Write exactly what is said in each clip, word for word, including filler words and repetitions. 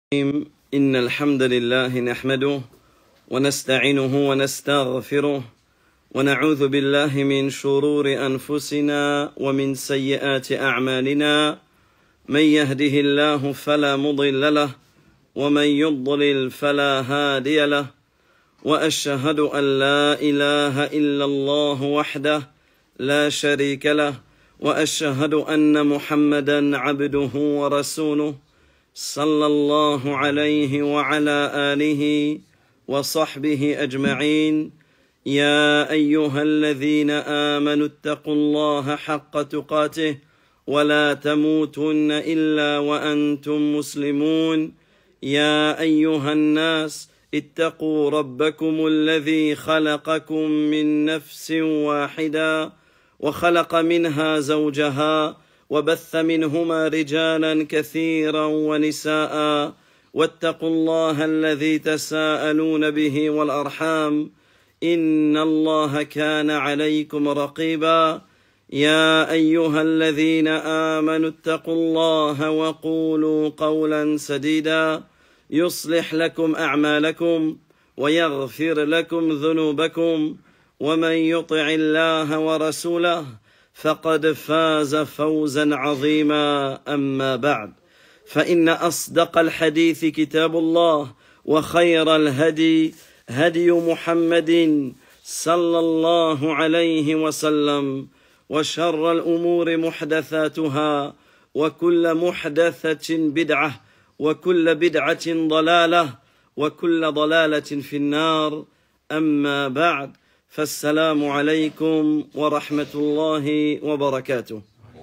إن الحمد لله نحمده ونستعينه ونستغفره ونعوذ بالله من شرور أنفسنا ومن سيئات أعمالنا من يهده الله فلا مضل له ومن يضلل فلا هادي له وأشهد أن لا إله إلا الله وحده لا شريك له وأشهد أن محمدا عبده ورسوله صلى الله عليه وعلى آله وصحبه أجمعين يا أيها الذين آمنوا اتقوا الله حق تقاته ولا تموتن إلا وأنتم مسلمون يا أيها الناس اتقوا ربكم الذي خلقكم من نفس واحدة وخلق منها زوجها وبث منهما رجالا كثيرا ونساء واتقوا الله الذي تساءلون به والأرحام إن الله كان عليكم رقيبا يا أيها الذين آمنوا اتقوا الله وقولوا قولا سديدا يصلح لكم أعمالكم ويغفر لكم ذنوبكم ومن يطع الله ورسوله فقد فاز فوزا عظيما أما بعد فإن أصدق الحديث كتاب الله وخير الهدي هدي محمد صلى الله عليه وسلم وشر الأمور محدثاتها وكل محدثة بدعة وكل بدعة ضلالة وكل ضلالة في النار أما بعد فالسلام عليكم ورحمة الله وبركاته.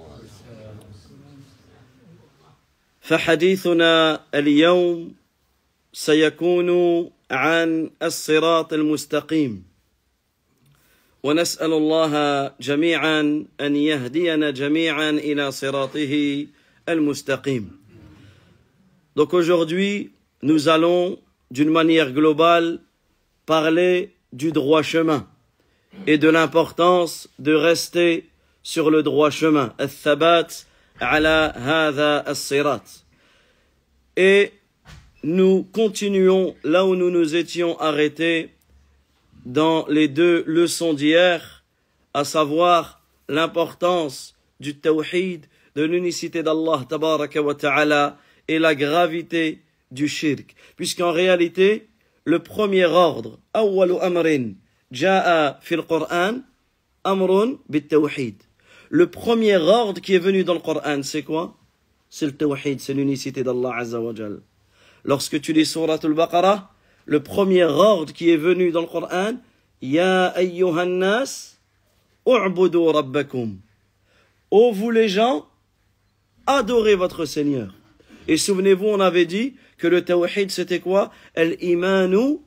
فحديثنا اليوم سيكون عن الصراط المستقيم ونسأل الله جميعا أن يهدينا جميعا إلى صراطه المستقيم. Donc aujourd'hui, nous allons d'une manière globale parler du droit chemin et de l'importance de rester sur le droit chemin. Al-thabat ala hadha as-sirat. Et nous continuons là où nous nous étions arrêtés dans les deux leçons d'hier, à savoir l'importance du tawhid, de l'unicité d'Allah tabaraka wa ta'ala et la gravité du shirk. Puisqu'en réalité, le premier ordre, أول أمر جاء في القرآن أمر بالتوحيد. Le premier ordre qui est venu dans le Coran, c'est quoi? C'est le tawhid, c'est l'unicité d'Allah Azza wa Jal. Lorsque tu lis Surat al-Baqarah, le premier ordre qui est venu dans le Coran, Ya ayyuhan nas, u'budu rabbakum. Ô vous les gens, adorez votre Seigneur. Et souvenez-vous, on avait dit que le tawhid c'était quoi? Al-imanu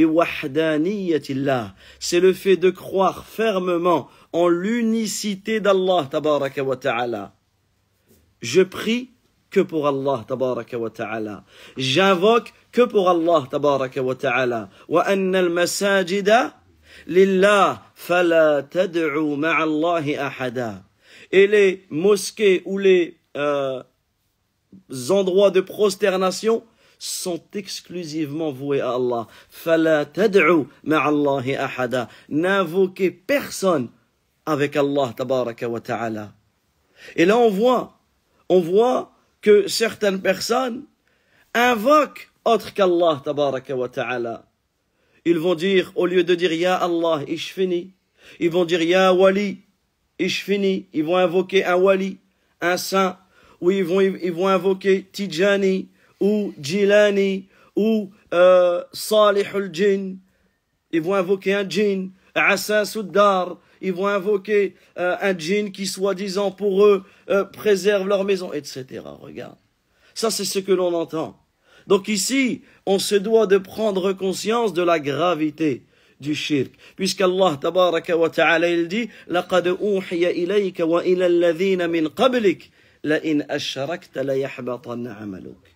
biwahdaniyatillah. C'est le fait de croire fermement en l'unicité d'Allah tabaraka wa ta'ala. Je prie que pour Allah tabaraka wa ta'ala. J'invoque que pour Allah tabaraka wa ta'ala. Wa anna al-masajida lillah fala tad'u ma'a Allahi ahada. Et les mosquées ou les euh, endroits de prosternation sont exclusivement voués à Allah. Fala tad'u ma'allahi ahada. N'invoquez personne avec Allah tabaraka wa ta'ala. Et là on voit, on voit que certaines personnes invoquent autre qu'Allah tabaraka wa ta'ala. Ils vont dire, au lieu de dire Ya Allah, ishfini, ils vont dire Ya Wali, ishfini. Ils vont invoquer un Wali, un saint, ou ils vont, ils vont invoquer Tijani, ou Jilani, ou euh, Salihul Jinn. Ils vont invoquer un djinn, Asasuddar. Ils vont invoquer euh, un djinn qui, soi-disant, pour eux, euh, préserve leur maison, et cetera. Regarde. Ça, c'est ce que l'on entend. Donc ici, on se doit de prendre conscience de la gravité du shirk. Puisqu'Allah, tabaraka wa ta'ala, il dit, لَقَدْ أُوحِيَ إِلَيْكَ وَإِلَى الَّذِينَ مِنْ قَبْلِكَ لَإِنْ أَشْرَكْتَ لَيَحْبَطَنَّ عَمَلُكَ.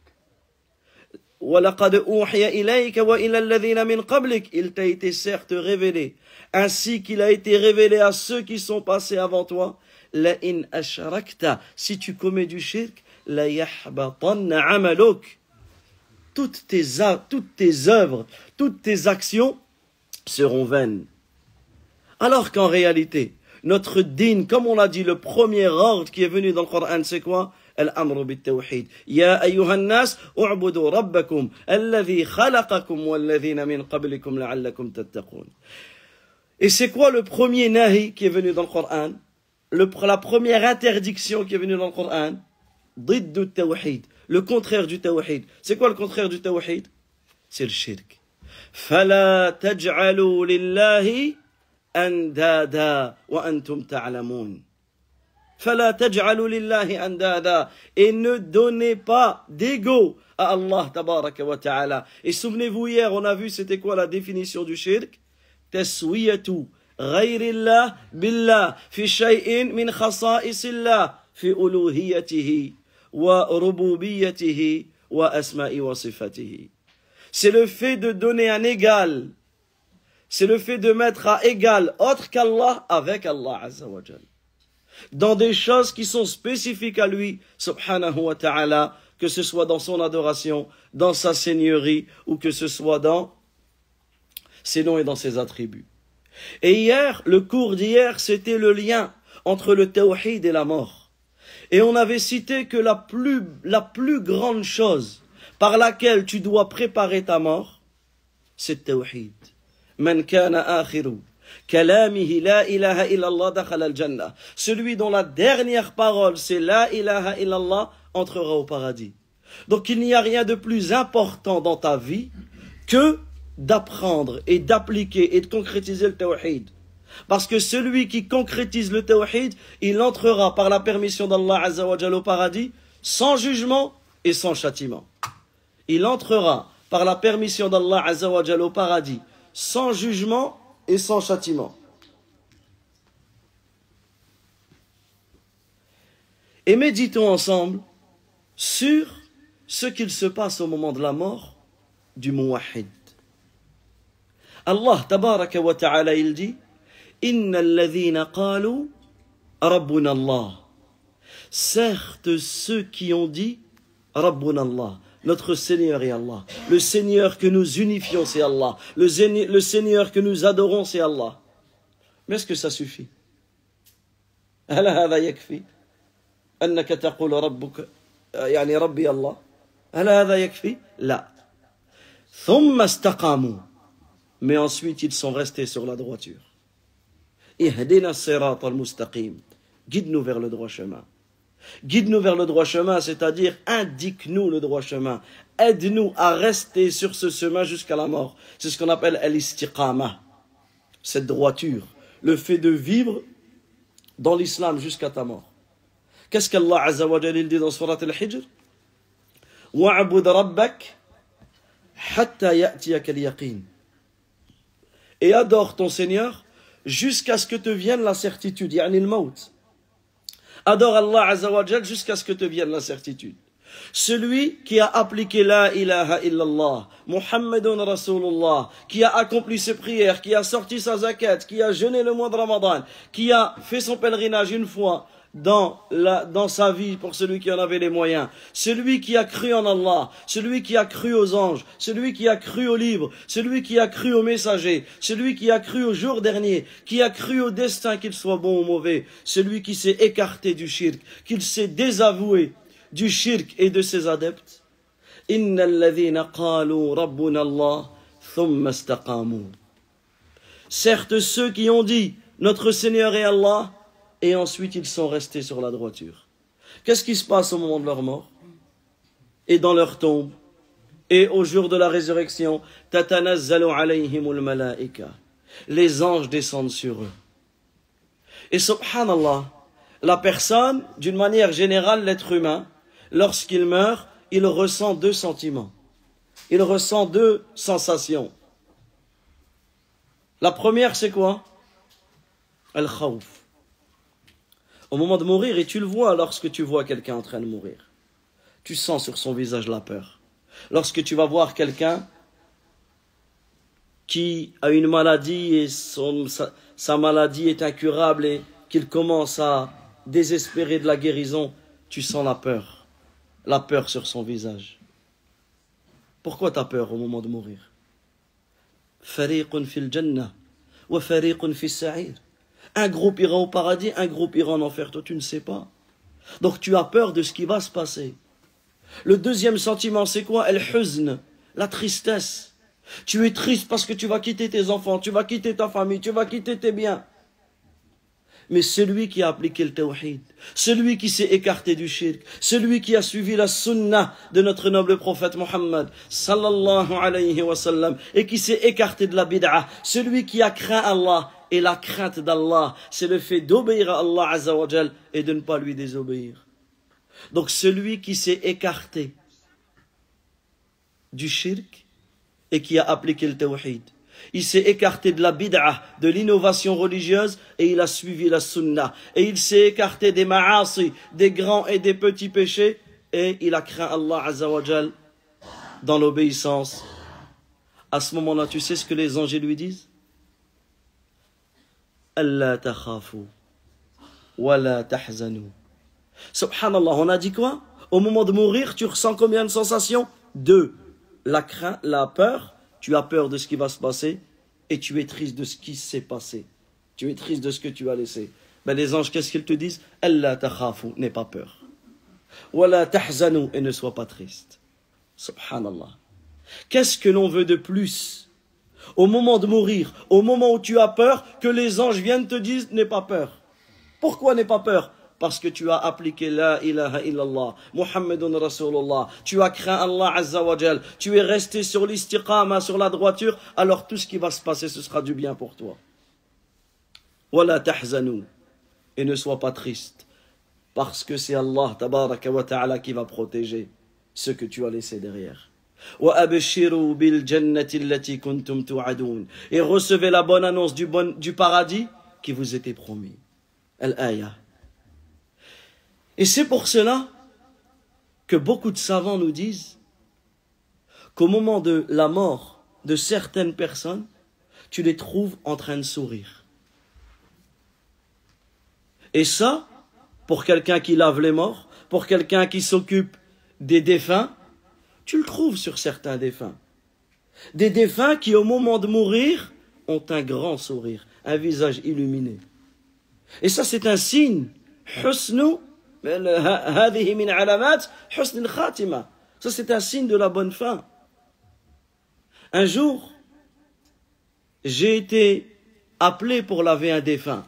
وَلَقَدْ أُوحِيَ إِلَيْكَ وَإِلَى الَّذِينَ مِنْ قَبْلِكَ. Il t'a été certes révélé, ainsi qu'il a été révélé à ceux qui sont passés avant toi. لَإِنْ أَشْرَكْتَ. Si tu commets du shirk, لَيَحْبَطَنَّ عَمَلُكَ. toutes tes, toutes tes œuvres, toutes tes actions seront vaines. Alors qu'en réalité, notre dîn, comme on l'a dit, le premier ordre qui est venu dans le Coran, c'est quoi? Al-amru bit-tawhid. Ya ayyuhan nas, u'budu rabbakum, alladhi khalaqakum walladhina min qablikum la'allakum tattaqun. Et c'est quoi le premier nahi qui est venu dans le Coran? Le, la première interdiction qui est venue dans le Coran? Diddu tawhid. Le contraire du tawhid. C'est quoi le contraire du tawhid? C'est le shirk. Fala taj'alu lillahi andada wa antum ta'lamun. Fala taj'alu lillahi andada. Et ne donnez pas d'ego à Allah tabaraka wa ta'ala. Et souvenez-vous, hier on a vu c'était quoi la définition du shirk? Taswiyatu ghayrillah billah fi shay'in min khasaisillah fi uluhiyatihi wa rububiyyatihi wa asma'i wa sifatihi. C'est le fait de donner un égal. C'est le fait de mettre à égal autre qu'Allah avec Allah Azza wa Jal. Dans des choses qui sont spécifiques à lui, subhanahu wa ta'ala, que ce soit dans son adoration, dans sa seigneurie, ou que ce soit dans ses noms et dans ses attributs. Et hier, le cours d'hier, c'était le lien entre le tawhid et la mort. Et on avait cité que la plus, la plus grande chose par laquelle tu dois préparer ta mort, c'est le tawhid. Man kana akhiru kalamihi la ilaha illallah dakhala al-jannah. Celui dont la dernière parole c'est la ilaha illallah entrera au paradis. Donc il n'y a rien de plus important dans ta vie que d'apprendre et d'appliquer et de concrétiser le tawhid. Parce que celui qui concrétise le tawhid, il entrera par la permission d'Allah Azza wa Jalla au paradis sans jugement et sans châtiment. Il entrera par la permission d'Allah Azza wa Jalla au paradis sans jugement et sans châtiment. Et méditons ensemble sur ce qu'il se passe au moment de la mort du muwahhid. Allah tabaraka wa ta'ala il dit Inna alladhina qalu Rabbuna Allah. Certes ceux qui ont dit Rabbuna Allah, notre Seigneur est Allah. Le Seigneur que nous unifions c'est Allah. Le, le Seigneur que nous adorons c'est Allah. Mais est-ce que ça suffit? هل هذا يكفي أنك تقول ربك يعني ربي الله؟ هل هذا يكفي؟ لا. ثم استقاموا. Mais ensuite ils sont restés sur la droiture. Ihdina as-sirat al-mustaqim. Guide-nous vers le droit chemin. Guide-nous vers le droit chemin, c'est-à-dire indique-nous le droit chemin. Aide-nous à rester sur ce chemin jusqu'à la mort. C'est ce qu'on appelle al-istiqama. Cette droiture, le fait de vivre dans l'islam jusqu'à ta mort. Qu'est-ce qu'Allah Azza wa Jalla dit dans Surat al-Hijr? Wa'bud rabbak hatta ya'tiyaka al-yaqin. Et adore ton Seigneur jusqu'à ce que te vienne la certitude, yani al-maut. Adore Allah Azza wa Jal jusqu'à ce que te vienne la certitude. Celui qui a appliqué la ilaha illallah, Muhammadun Rasulullah, qui a accompli ses prières, qui a sorti sa zakat, qui a jeûné le mois de Ramadan, qui a fait son pèlerinage une fois dans, la, dans sa vie pour celui qui en avait les moyens, celui qui a cru en Allah, celui qui a cru aux anges, celui qui a cru aux livres, celui qui a cru aux messagers, celui qui a cru au jour dernier, qui a cru au destin qu'il soit bon ou mauvais, celui qui s'est écarté du shirk, qu'il s'est désavoué du shirk et de ses adeptes. Innal ladhina qalu rabbuna Allah thumma istaqamu. Certes ceux qui ont dit notre Seigneur est Allah et ensuite ils sont restés sur la droiture. Qu'est-ce qui se passe au moment de leur mort et dans leur tombe et au jour de la résurrection? Tatanazzalu alayhimul malaika. Les anges descendent sur eux. Et subhanallah, la personne, d'une manière générale, l'être humain, lorsqu'il meurt, il ressent deux sentiments. Il ressent deux sensations. La première, c'est quoi? Al-khawf. Au moment de mourir, et tu le vois lorsque tu vois quelqu'un en train de mourir, tu sens sur son visage la peur. Lorsque tu vas voir quelqu'un qui a une maladie et son, sa, sa maladie est incurable et qu'il commence à désespérer de la guérison, tu sens la peur. La peur sur son visage. Pourquoi tu as peur au moment de mourir? Fariqun fil jannah wa fariqun fis sa'ir. Un groupe ira au paradis, un groupe ira en enfer. Toi, tu ne sais pas. Donc, tu as peur de ce qui va se passer. Le deuxième sentiment, c'est quoi? El-huzn, la tristesse. Tu es triste parce que tu vas quitter tes enfants, tu vas quitter ta famille, tu vas quitter tes biens. Mais celui qui a appliqué le tawhid, celui qui s'est écarté du shirk, celui qui a suivi la sunnah de notre noble prophète Mohammed sallallahu alayhi wa sallam et qui s'est écarté de la bid'ah, celui qui a craint Allah, et la crainte d'Allah, c'est le fait d'obéir à Allah azza wa jal et de ne pas lui désobéir. Donc celui qui s'est écarté du shirk et qui a appliqué le tawhid, il s'est écarté de la bid'ah, de l'innovation religieuse, et il a suivi la sunnah. Et il s'est écarté des ma'asi, des grands et des petits péchés, et il a craint Allah azza wa jal dans l'obéissance. À ce moment-là, tu sais ce que les anges lui disent? Allah takhafu wa la tahzanu. Subhanallah, on a dit quoi? Au moment de mourir, tu ressens combien de sensations? Deux. La crainte, la peur. Tu as peur de ce qui va se passer et tu es triste de ce qui s'est passé. Tu es triste de ce que tu as laissé. Ben les anges, qu'est-ce qu'ils te disent? Allah takhafu, n'aie pas peur. Wa la tahzanu, et ne sois pas triste. Subhanallah. Qu'est-ce que l'on veut de plus? Au moment de mourir, au moment où tu as peur, que les anges viennent te dire n'aie pas peur. Pourquoi n'aie pas peur? Parce que tu as appliqué la ilaha illallah, Muhammadun Rasulullah, tu as craint Allah azza wa jal, tu es resté sur l'istiqama, sur la droiture, alors tout ce qui va se passer, ce sera du bien pour toi. Wala tahzanu, et ne sois pas triste, parce que c'est Allah tabaraka wa ta'ala qui va protéger ce que tu as laissé derrière. Et recevez la bonne annonce du, bon, du paradis qui vous était promis. Al-Aya. Et c'est pour cela que beaucoup de savants nous disent qu'au moment de la mort de certaines personnes, tu les trouves en train de sourire. Et ça, pour quelqu'un qui lave les morts, pour quelqu'un qui s'occupe des défunts, tu le trouves sur certains défunts. Des défunts qui, au moment de mourir, ont un grand sourire, un visage illuminé. Et ça, c'est un signe. Husnu, hadihi min alamat, husn al-khatima. Ça, c'est un signe de la bonne fin. Un jour, j'ai été appelé pour laver un défunt.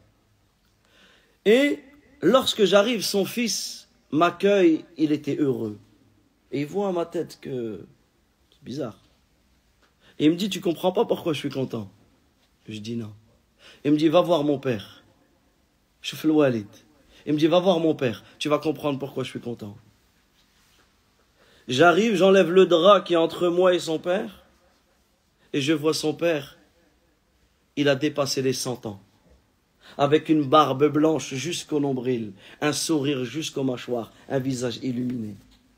Et lorsque j'arrive, son fils m'accueille, il était heureux. Et il voit à ma tête que c'est bizarre. Et il me dit, tu comprends pas pourquoi je suis content? Je dis non. Il me dit, va voir mon père. Je fais le walid. Il me dit, va voir mon père. Tu vas comprendre pourquoi je suis content. J'arrive, j'enlève le drap qui est entre moi et son père. Et je vois son père. Il a dépassé les cent ans. Avec une barbe blanche jusqu'au nombril. Un sourire jusqu'aux mâchoires. Un visage illuminé.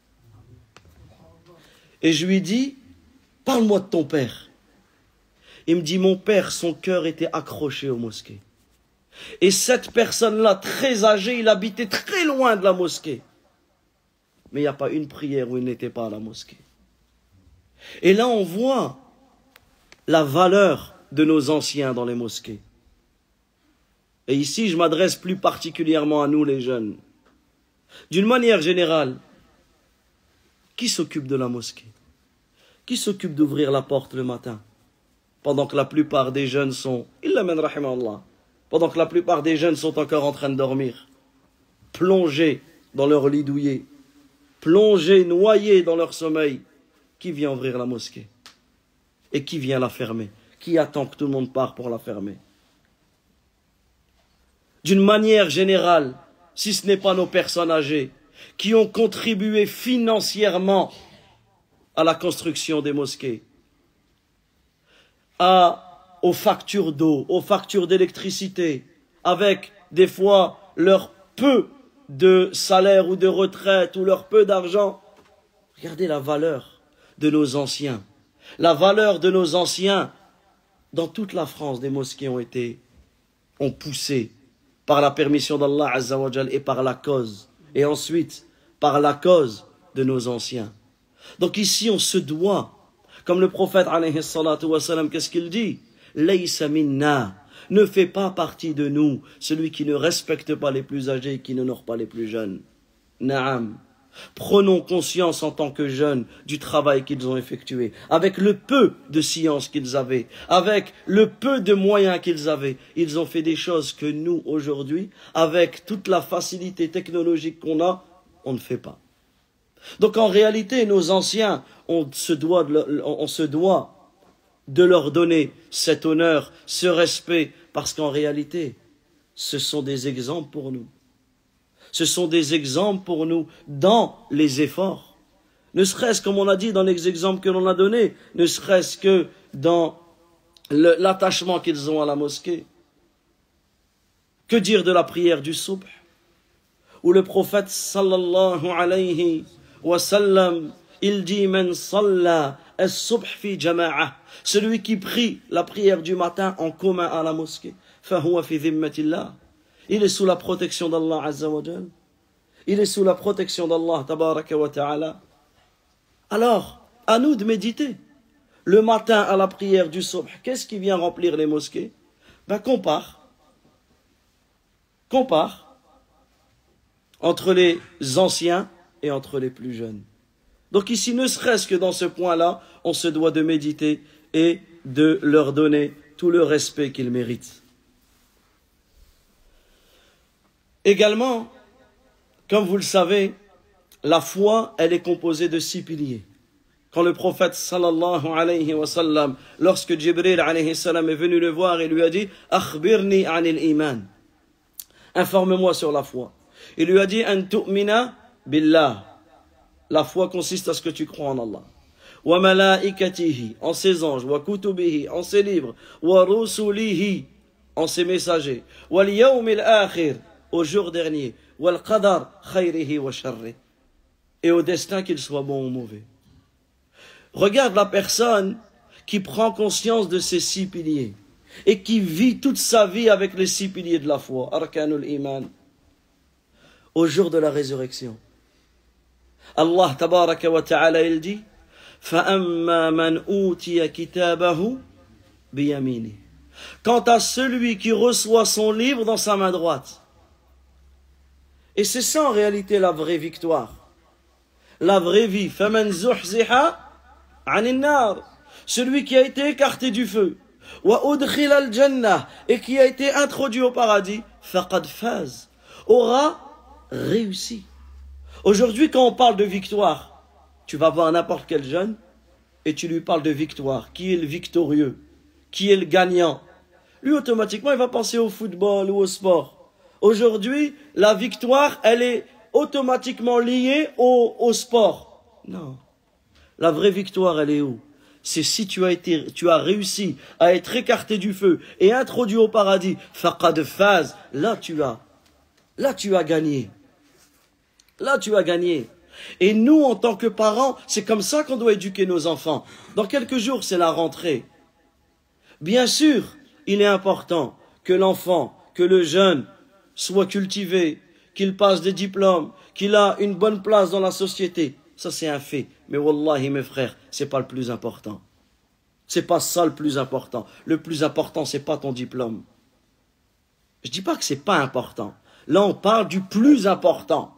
Et je lui dis, parle-moi de ton père. Il me dit, mon père, son cœur était accroché aux mosquées. Et cette personne-là, très âgée, il habitait très loin de la mosquée. Mais il n'y a pas une prière où il n'était pas à la mosquée. Et là, on voit la valeur de nos anciens dans les mosquées. Et ici, je m'adresse plus particulièrement à nous, les jeunes. D'une manière générale, qui s'occupe de la mosquée? Qui s'occupe d'ouvrir la porte le matin? Pendant que la plupart des jeunes sont, illa man rahimahullah, pendant que la plupart des jeunes sont encore en train de dormir, plongés dans leur lit douillet, plongés, noyés dans leur sommeil, qui vient ouvrir la mosquée? Et qui vient la fermer? Qui attend que tout le monde parte pour la fermer? D'une manière générale, si ce n'est pas nos personnes âgées, qui ont contribué financièrement à la construction des mosquées, à, aux factures d'eau, aux factures d'électricité, avec des fois leur peu de salaire ou de retraite ou leur peu d'argent. Regardez la valeur de nos anciens. La valeur de nos anciens. Dans toute la France, des mosquées ont été, ont poussé par la permission d'Allah Azza wa Jal et par la cause. Et ensuite, par la cause de nos anciens. Donc ici, on se doit, comme le prophète, alayhi salatu wa salam, qu'est-ce qu'il dit? Laysa minna, ne fait pas partie de nous, celui qui ne respecte pas les plus âgés et qui n'honore pas les plus jeunes. Naam. Prenons conscience en tant que jeunes du travail qu'ils ont effectué, avec le peu de science qu'ils avaient, avec le peu de moyens qu'ils avaient. Ils ont fait des choses que nous, aujourd'hui, avec toute la facilité technologique qu'on a, on ne fait pas. Donc en réalité, nos anciens, on se doit de, on se doit de leur donner cet honneur, ce respect, parce qu'en réalité, ce sont des exemples pour nous. Ce sont des exemples pour nous dans les efforts. Ne serait-ce, comme on a dit dans les exemples que l'on a donnés, ne serait-ce que dans le, l'attachement qu'ils ont à la mosquée. Que dire de la prière du subh, où le prophète sallallahu alayhi wa sallam, il dit « Man salla as-subh fi jama'ah » celui qui prie la prière du matin en commun à la mosquée, « Fahuwa fi dhimmatillah » il est sous la protection d'Allah Azza wa Jal. Il est sous la protection d'Allah Tabaraka wa Ta'ala. Alors, à nous de méditer. Le matin à la prière du subh, qu'est-ce qui vient remplir les mosquées? Ben, compare. Compare entre les anciens et entre les plus jeunes. Donc ici, ne serait-ce que dans ce point-là, on se doit de méditer et de leur donner tout le respect qu'ils méritent. Également, comme vous le savez, la foi, elle est composée de six piliers. Quand le prophète sallallahu alayhi wa sallam, lorsque Jibril alayhi salam est venu le voir et lui a dit « Akhbirni anil iman » informe-moi sur la foi. Il lui a dit « An tu'mina billah » la foi consiste à ce que tu crois en Allah. « Wa malaikatihi » en ses anges, « Wa kutubihi » en ses livres, « Wa rusulihi » en ses messagers, « Wal yawmil akhir » au jour dernier, wal qadar khayrihi wa sharri, et au destin qu'il soit bon ou mauvais. Regarde la personne qui prend conscience de ces six piliers et qui vit toute sa vie avec les six piliers de la foi, arkanul iman, au jour de la résurrection. Allah tabaraka wa ta'ala il dit fa amma man utiya kitabahu biyamini. Quant à celui qui reçoit son livre dans sa main droite. Et c'est ça en réalité la vraie victoire. La vraie vie. فَمَنْ زُحْزِحَ عَنِ النَّارِ celui qui a été écarté du feu. وَأُدْخِلَ الْجَنَّةِ et qui a été introduit au paradis. فَقَدْ فَازَ aura réussi. Aujourd'hui, quand on parle de victoire, tu vas voir n'importe quel jeune et tu lui parles de victoire. Qui est le victorieux? Qui est le gagnant? Lui, automatiquement, il va penser au football ou au sport. Aujourd'hui, la victoire, elle est automatiquement liée au, au sport. Non. La vraie victoire, elle est où? C'est si tu as été, tu as réussi à être écarté du feu et introduit au paradis. Faqad faz. Là, tu as, là, tu as gagné. Là, tu as gagné. Et nous, en tant que parents, c'est comme ça qu'on doit éduquer nos enfants. Dans quelques jours, c'est la rentrée. Bien sûr, il est important que l'enfant, que le jeune, soit cultivé, qu'il passe des diplômes, qu'il a une bonne place dans la société. Ça, c'est un fait. Mais wallahi, mes frères, c'est pas le plus important. C'est pas ça le plus important. Le plus important, c'est pas ton diplôme. Je dis pas que c'est pas important. Là, on parle du plus important.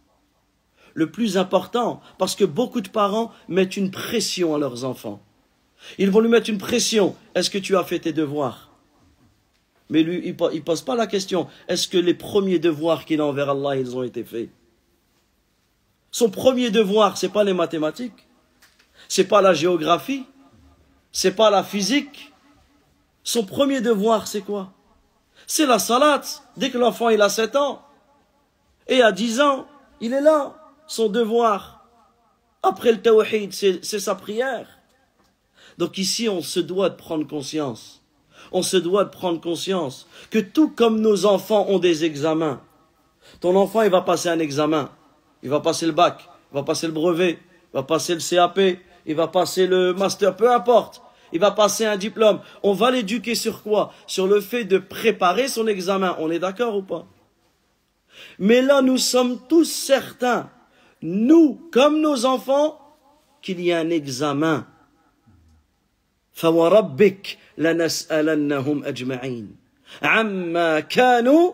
Le plus important, parce que beaucoup de parents mettent une pression à leurs enfants. Ils vont lui mettre une pression. Est-ce que tu as fait tes devoirs? Mais lui, il ne pose pas la question, est-ce que les premiers devoirs qu'il a envers Allah, ils ont été faits? Son premier devoir, ce n'est pas les mathématiques, ce n'est pas la géographie, ce n'est pas la physique. Son premier devoir, c'est quoi? C'est la salat. Dès que l'enfant il a sept ans, et à dix ans, il est là, son devoir. Après le tawhid, c'est, c'est sa prière. Donc ici, on se doit de prendre conscience. On se doit de prendre conscience que tout comme nos enfants ont des examens, ton enfant, il va passer un examen. Il va passer le bac, il va passer le brevet, il va passer le C A P, il va passer le master, peu importe. Il va passer un diplôme. On va l'éduquer sur quoi? Sur le fait de préparer son examen. On est d'accord ou pas? Mais là, nous sommes tous certains, nous, comme nos enfants, qu'il y a un examen. فَوَرَبِّكَ لَنَسْأَلَنَّهُمْ أَجْمَعِينَ عَمَّا كَانُوا.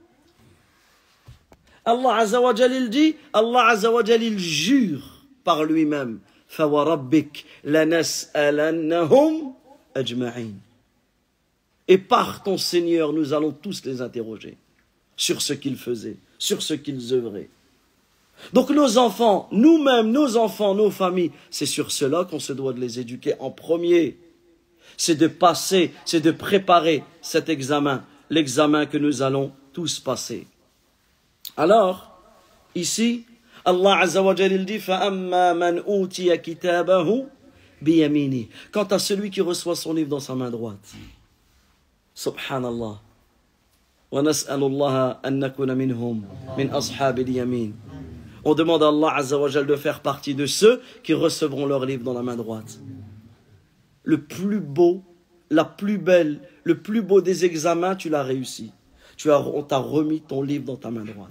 Allah Azza wa Jal, il dit, Allah Azza wa Jal, il jure par lui-même. فَوَرَبِّكَ لَنَسْأَلَنَّهُمْ أَجْمَعِينَ. Et par ton Seigneur, nous allons tous les interroger sur ce qu'ils faisaient, sur ce qu'ils œuvraient. Donc nos enfants, nous-mêmes, nos enfants, nos familles, c'est sur cela qu'on se doit de les éduquer en premier. C'est de passer, c'est de préparer cet examen, l'examen que nous allons tous passer. Alors, ici, Allah Azza wa Jal, il dit فَأَمَّا مَنْ أُوتِيَ كِتَابَهُ بِيَمِينِهِ. Quant à celui qui reçoit son livre dans sa main droite. Subhanallah. وَنَسْأَلُ اللَّهَ أَن نَّكُونَ مِنْهُمْ مِنْ أَصْحَابِ الْيَمِينِ. On demande à Allah Azza wa Jal de faire partie de ceux qui recevront leur livre dans la main droite. Le plus beau, la plus belle, le plus beau des examens, tu l'as réussi. Tu as, on t'a remis ton livre dans ta main droite.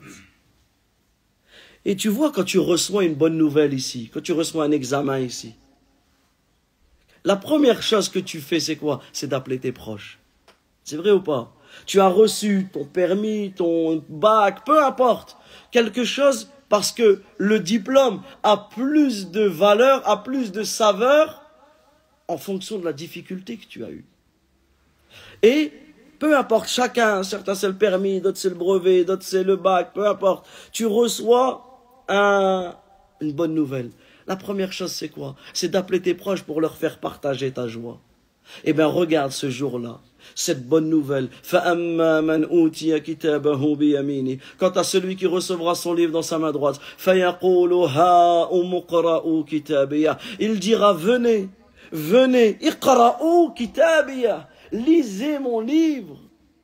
Et tu vois, quand tu reçois une bonne nouvelle ici, quand tu reçois un examen ici, la première chose que tu fais, c'est quoi? C'est d'appeler tes proches. C'est vrai ou pas? Tu as reçu ton permis, ton bac, peu importe, quelque chose, parce que le diplôme a plus de valeur, a plus de saveur en fonction de la difficulté que tu as eue. Et peu importe, chacun, certains c'est le permis, d'autres c'est le brevet, d'autres c'est le bac, peu importe, tu reçois un, une bonne nouvelle. La première chose c'est quoi? C'est d'appeler tes proches pour leur faire partager ta joie. Eh bien regarde ce jour-là, cette bonne nouvelle. فَأَمَّا مَنْ أُوتِيَ كِتَابَهُ بِيَمِينِهِ. Quant à celui qui recevra son livre dans sa main droite, فَيَقُولُ هَاؤُمُ اقْرَءُوا كِتَابِيَهْ. Il dira, venez, venez, اقْرَءُوا كِتَابِيَهْ. Lisez mon livre.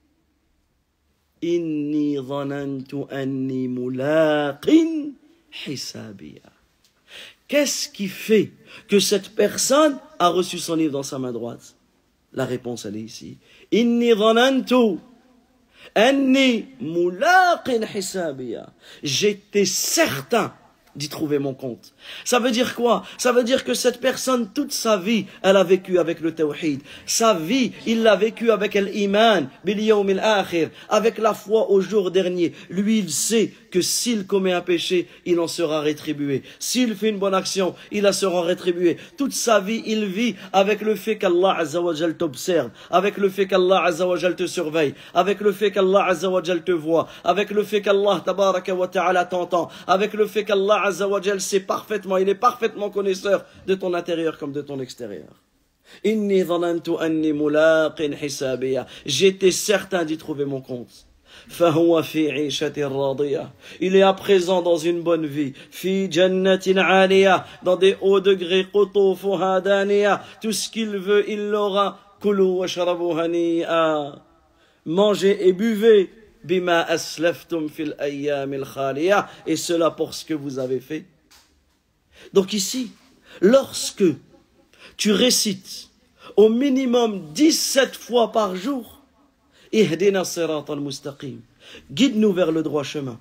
إِنِّي ظَنَنْتُ أَنِّي مُلَاقٍ حِسَابِيَهْ. Qu'est-ce qui fait que cette personne a reçu son livre dans sa main droite? La réponse, elle est ici. Inni dhanantu anni mulaqin hisabiya. J'étais certain d'y trouver mon compte. Ça veut dire quoi? Ça veut dire que cette personne, toute sa vie, elle a vécu avec le tawhid. Sa vie, il l'a vécu avec l'iman, bil yawm al-akhir, avec la foi au jour dernier. Lui, il sait que s'il commet un péché, il en sera rétribué. S'il fait une bonne action, il en sera rétribué. Toute sa vie, il vit avec le fait qu'Allah Azza wa Jal t'observe, avec le fait qu'Allah Azza wa Jal te surveille, avec le fait qu'Allah Azza wa Jal te voit, avec le fait qu'Allah Tabaraka wa Ta'ala t'entend, avec le fait qu'Allah Azza wa Jal sait parfaitement, il est parfaitement connaisseur de ton intérieur comme de ton extérieur. Inni dhanantu anni mulaqin hisabiya. J'étais certain d'y trouver mon compte. فهو في عيشة راضية. Il est à présent dans une bonne vie. في جنة عالية. Dans des hauts degrés. قطوفها دانية. Tout ce qu'il veut, il l'aura. كلوا واشربوا هنيئا. Mangez et buvez. بما أسلفتم في الأيام الخالية. Et cela pour ce que vous avez fait. Donc ici, lorsque tu récites au minimum dix-sept fois par jour, Ihdina sirata al-mustaqim. Guide-nous vers le droit chemin.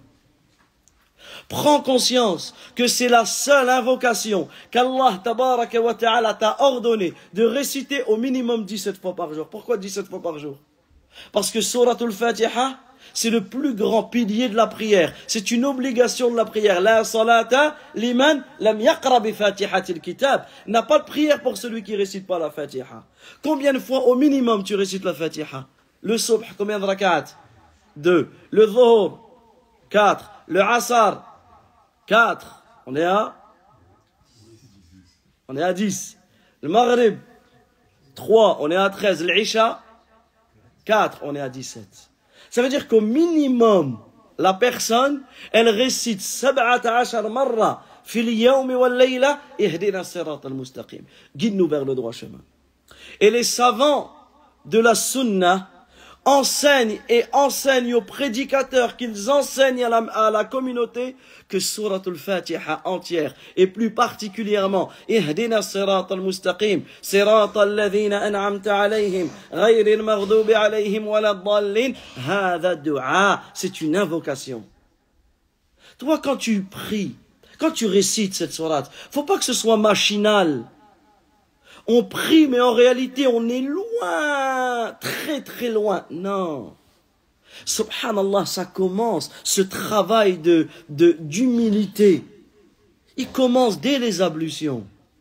Prends conscience que c'est la seule invocation qu'Allah tabaraka wa ta'ala t'a ordonné de réciter au minimum dix-sept fois par jour. Pourquoi dix-sept fois par jour? Parce que Suratul Fatiha, c'est le plus grand pilier de la prière. C'est une obligation de la prière. La salata liman lam yaqra bi fatihatil kitab. N'a pas de prière pour celui qui récite pas la Fatiha. Combien de fois au minimum tu récites la Fatiha? Le subh, combien de rak'at? Deux. Le dhuhr, quatre. Le asar, quatre. On est à On est à dix. Le maghrib, trois. On est à treize. L'isha, quatre. On est à dix-sept. Ça veut dire qu'au minimum, la personne, elle récite sab'ata ashar marra fil yawmi wal layla ihdina sirata al-mustaqim. Guide-nous vers le droit chemin. Et les savants de la sunna enseignent et enseignent aux prédicateurs qu'ils enseignent à la, à la communauté que Suratul Fatiha entière et plus particulièrement Ihdina Sirata al-Mustaqim Sirata alladhina an'amta alayhim ghayri al-maghdubi alayhim wa la-d-dallin. Hadha du'a, c'est une invocation. Toi quand tu pries, Quand tu récites cette sourate, faut pas que ce soit machinal. On prie, mais en réalité, on est loin, très très loin. Non. Subhanallah, ça commence, ce travail de, de, d'humilité. Il commence dès les ablutions.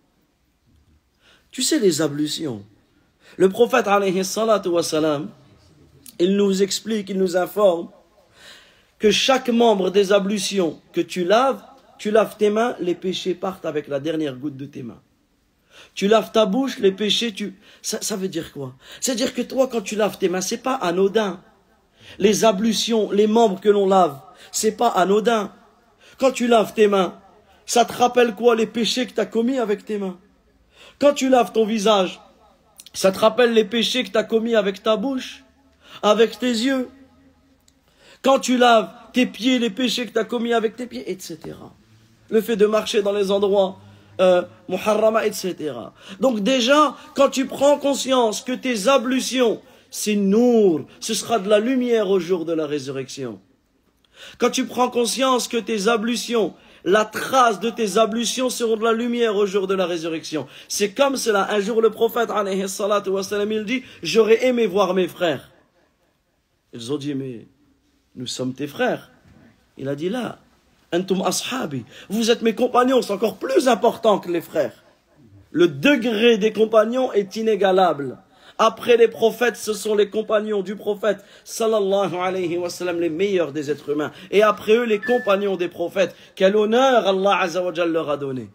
Tu sais, les ablutions. Le prophète, alayhi salatu wa salam, il nous explique, il nous informe que chaque membre des ablutions que tu laves, tu laves tes mains, les péchés partent avec la dernière goutte de tes mains. Tu laves ta bouche, les péchés, tu... Ça, ça veut dire quoi? C'est-à-dire que toi, quand tu laves tes mains, c'est pas anodin. Les ablutions, les membres que l'on lave, c'est pas anodin. Quand tu laves tes mains, ça te rappelle quoi? Les péchés que tu as commis avec tes mains. Quand tu laves ton visage, ça te rappelle les péchés que tu as commis avec ta bouche, avec tes yeux. Quand tu laves tes pieds, les péchés que tu as commis avec tes pieds, et cetera. Le fait de marcher dans les endroits euh, muharrama, et cetera. Donc déjà, quand tu prends conscience que tes ablutions, c'est nour, ce sera de la lumière au jour de la résurrection. Quand tu prends conscience que tes ablutions, la trace de tes ablutions seront de la lumière au jour de la résurrection. C'est comme cela. Un jour, le prophète, alayhi salatu wa salam, il dit, j'aurais aimé voir mes frères. Ils ont dit, mais nous sommes tes frères. Il a dit, là, antum ashabi, vous êtes mes compagnons, c'est encore plus important que les frères. Le degré des compagnons est inégalable. Après les prophètes, ce sont les compagnons du prophète, sallallahu alayhi wa sallam, les meilleurs des êtres humains. Et après eux, les compagnons des prophètes. Quel honneur Allah azza wa jalla leur a donné.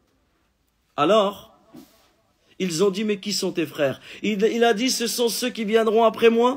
Alors, ils ont dit, mais qui sont tes frères? il, il a dit, ce sont ceux qui viendront après moi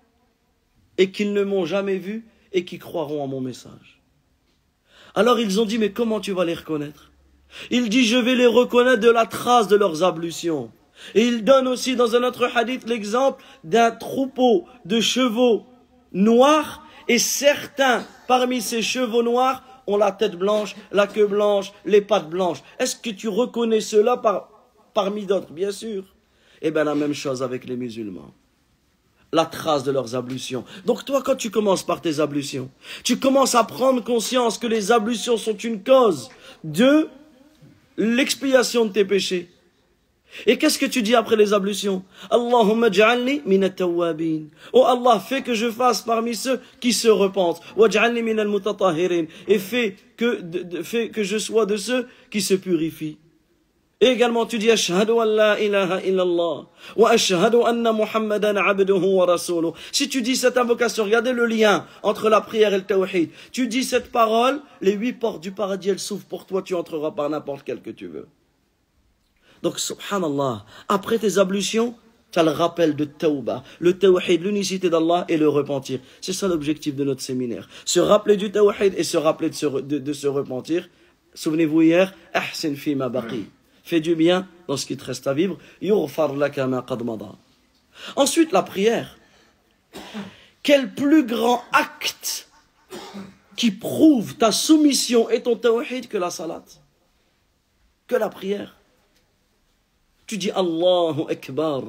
et qui ne m'ont jamais vu et qui croiront à mon message. Alors ils ont dit, mais comment tu vas les reconnaître? Il dit, je vais les reconnaître de la trace de leurs ablutions. Et il donne aussi dans un autre hadith l'exemple d'un troupeau de chevaux noirs, et certains parmi ces chevaux noirs ont la tête blanche, la queue blanche, les pattes blanches. Est-ce que tu reconnais cela par, parmi d'autres? Bien sûr. Eh bien la même chose avec les musulmans. La trace de leurs ablutions. Donc toi, quand tu commences par tes ablutions, tu commences à prendre conscience que les ablutions sont une cause de l'expiation de tes péchés. Et qu'est-ce que tu dis après les ablutions? Allahumma ja'alni min at-tawwabin. Oh Allah, fais que je fasse parmi ceux qui se repentent. Waj'alni min al-mutatahhirin. Et fais que, de, de, fais que je sois de ceux qui se purifient. Et également tu dis ashhadu an la ilaha illallah wa ashhadu anna Muhammadan abduhu wa rasuluh. Si tu dis cette invocation, regardez le lien entre la prière et le tawhid. Tu dis cette parole, les huit portes du paradis elles s'ouvrent pour toi, tu entreras par n'importe quelle que tu veux. Donc, subhanallah, après tes ablutions, tu as le rappel de tawbah, le tawhid, l'unicité d'Allah et le repentir. C'est ça l'objectif de notre séminaire. Se rappeler du tawhid et se rappeler de se, de, de se repentir. Souvenez-vous hier, ahsin fi ma baqi. Fais du bien dans ce qui te reste à vivre. Yughfar laka ma qad mada. Ensuite, la prière. Quel plus grand acte qui prouve ta soumission et ton tawhid que la salat, que la prière. Tu dis Allahu Akbar.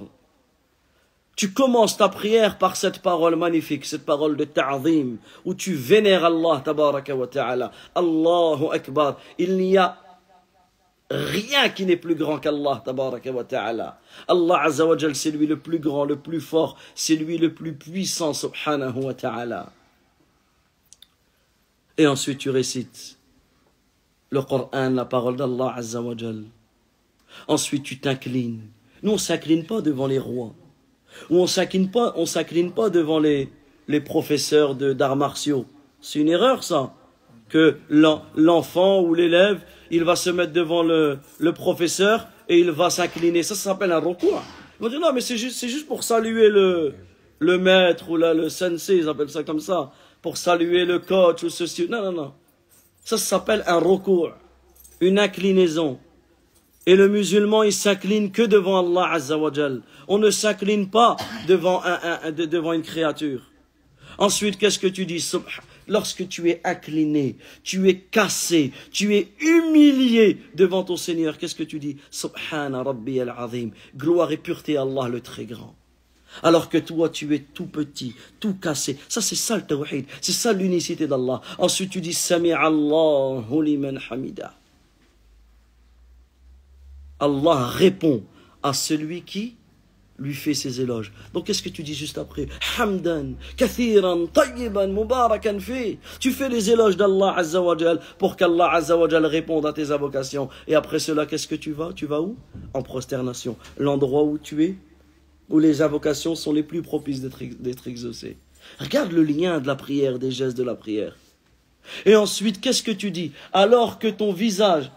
Tu commences ta prière par cette parole magnifique, cette parole de ta'zim, où tu vénères Allah, tabaraka wa ta'ala. Allahu Akbar. Il n'y a rien qui n'est plus grand qu'Allah, tabaraka wa ta'ala. Allah azza wa jal, c'est lui le plus grand, le plus fort, c'est lui le plus puissant, subhanahu wa ta'ala. Et ensuite tu récites le Coran, la parole d'Allah azza wa jal. Ensuite, tu t'inclines. Nous, on ne s'incline pas devant les rois. Ou on ne s'incline pas, on s'incline pas devant les, les professeurs de, d'arts martiaux. C'est une erreur, ça. Que l'enfant ou l'élève, il va se mettre devant le, le professeur et il va s'incliner. Ça, ça s'appelle un recours. Ils vont dire, non, mais c'est juste, c'est juste pour saluer le, le maître ou là, le sensei, ils appellent ça comme ça. Pour saluer le coach ou ceci. Non, non, non. Ça, ça s'appelle un recours. Une inclinaison. Et le musulman, il s'incline que devant Allah Azza wa Jal. On ne s'incline pas devant, un, un, un, devant une créature. Ensuite, qu'est-ce que tu dis? Lorsque tu es incliné, tu es cassé, tu es humilié devant ton Seigneur, qu'est-ce que tu dis? Subhana Rabbi al-Azim. Gloire et pureté à Allah le très grand. Alors que toi, tu es tout petit, tout cassé. Ça, c'est ça le tawhid. C'est ça l'unicité d'Allah. Ensuite, tu dis Sami Allahu liman hamida. Allah répond à celui qui lui fait ses éloges. Donc, qu'est-ce que tu dis juste après? Hamdan, kathiran, tayyiban, mubarakan fi. Tu fais les éloges d'Allah Azza wa Jal pour qu'Allah Azza wa Jal réponde à tes invocations. Et après cela, qu'est-ce que tu vas? Tu vas où? En prosternation. L'endroit où tu es, où les invocations sont les plus propices d'être exaucées. Regarde le lien de la prière, des gestes de la prière. Et ensuite, qu'est-ce que tu dis? Alors que ton visage,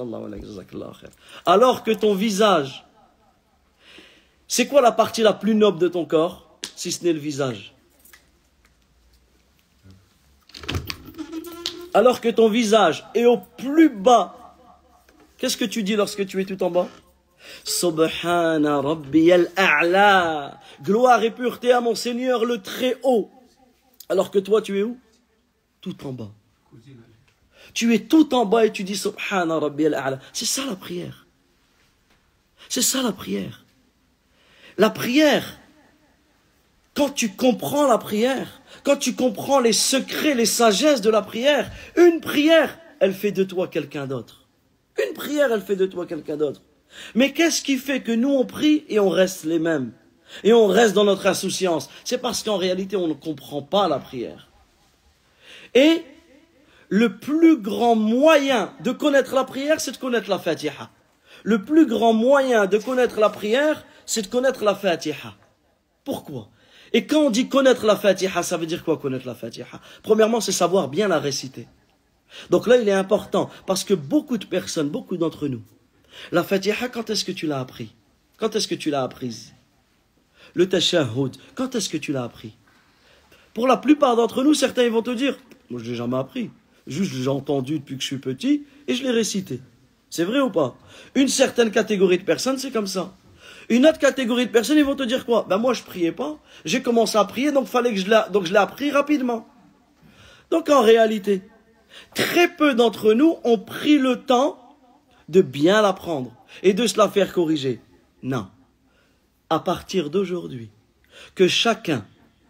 alors que ton visage, c'est quoi la partie la plus noble de ton corps, si ce n'est le visage? Alors que ton visage est au plus bas, qu'est-ce que tu dis lorsque tu es tout en bas? Subhana Rabbiyal A'la. Gloire et pureté à mon Seigneur le très haut. Alors que toi, tu es où? Tout en bas. Tu es tout en bas et tu dis Subhana Rabbiyal A'la. C'est ça la prière. C'est ça la prière. La prière, quand tu comprends la prière, quand tu comprends les secrets, les sagesses de la prière, une prière, elle fait de toi quelqu'un d'autre. Une prière, elle fait de toi quelqu'un d'autre. Mais qu'est-ce qui fait que nous on prie et on reste les mêmes? Et on reste dans notre insouciance? C'est parce qu'en réalité on ne comprend pas la prière. Et le plus grand moyen de connaître la prière, c'est de connaître la Fatiha. Le plus grand moyen de connaître la prière, c'est de connaître la Fatiha. Pourquoi? Et quand on dit connaître la Fatiha, ça veut dire quoi connaître la Fatiha? Premièrement, c'est savoir bien la réciter. Donc là, il est important, parce que beaucoup de personnes, beaucoup d'entre nous, la Fatiha, quand est-ce que tu l'as appris? Quand est-ce que tu l'as apprise? Le tashahhud, quand est-ce que tu l'as appris? Pour la plupart d'entre nous, certains ils vont te dire, moi je l'ai jamais appris, juste j'ai entendu depuis que je suis petit et je l'ai récité. C'est vrai ou pas? Une certaine catégorie de personnes, c'est comme ça. Une autre catégorie de personnes, ils vont te dire quoi? Ben moi je priais pas, j'ai commencé à prier, donc fallait que je l'ai, donc je l'ai appris rapidement. Donc en réalité, très peu d'entre nous ont pris le temps de bien l'apprendre et de se la faire corriger. Non. À partir d'aujourd'hui, que chacun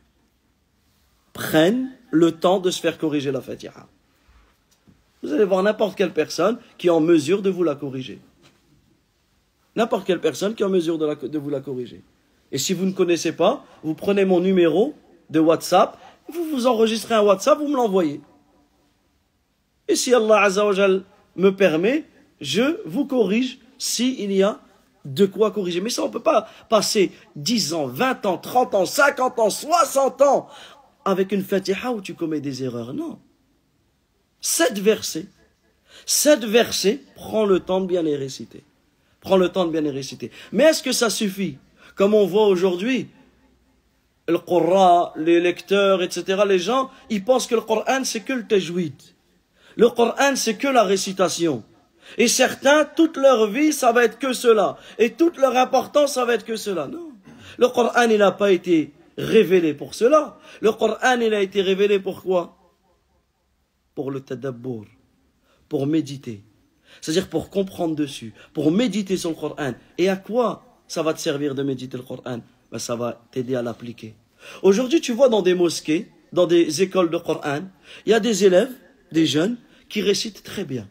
prenne le temps de se faire corriger la Fatiha. Vous allez voir n'importe quelle personne qui est en mesure de vous la corriger. N'importe quelle personne qui est en mesure de, la, de vous la corriger. Et si vous ne connaissez pas, vous prenez mon numéro de WhatsApp, vous vous enregistrez un WhatsApp, vous me l'envoyez. Et si Allah Azza wa Jal me permet, je vous corrige s'il y a de quoi corriger. Mais ça, on ne peut pas passer dix ans, vingt ans, trente ans, cinquante ans, soixante ans avec une Fatiha où tu commets des erreurs. Non. Sept versets. Sept versets, prends le temps de bien les réciter. Prends le temps de bien les réciter. Mais est-ce que ça suffit? Comme on voit aujourd'hui, le Qur'an, les lecteurs, et cetera, les gens, ils pensent que le Qur'an, c'est que le tajwid. Le Qur'an, c'est que la récitation. Et certains, toute leur vie, ça va être que cela. Et toute leur importance, ça va être que cela. Non. Le Qur'an, il n'a pas été révélé pour cela. Le Qur'an, il a été révélé pour quoi? Pour le tadabbur. Pour méditer. C'est-à-dire pour comprendre dessus. Pour méditer sur le Qur'an. Et à quoi ça va te servir de méditer le Qur'an? Ben, ça va t'aider à l'appliquer. Aujourd'hui, tu vois dans des mosquées, dans des écoles de Qur'an, il y a des élèves, des jeunes, qui récitent très bien.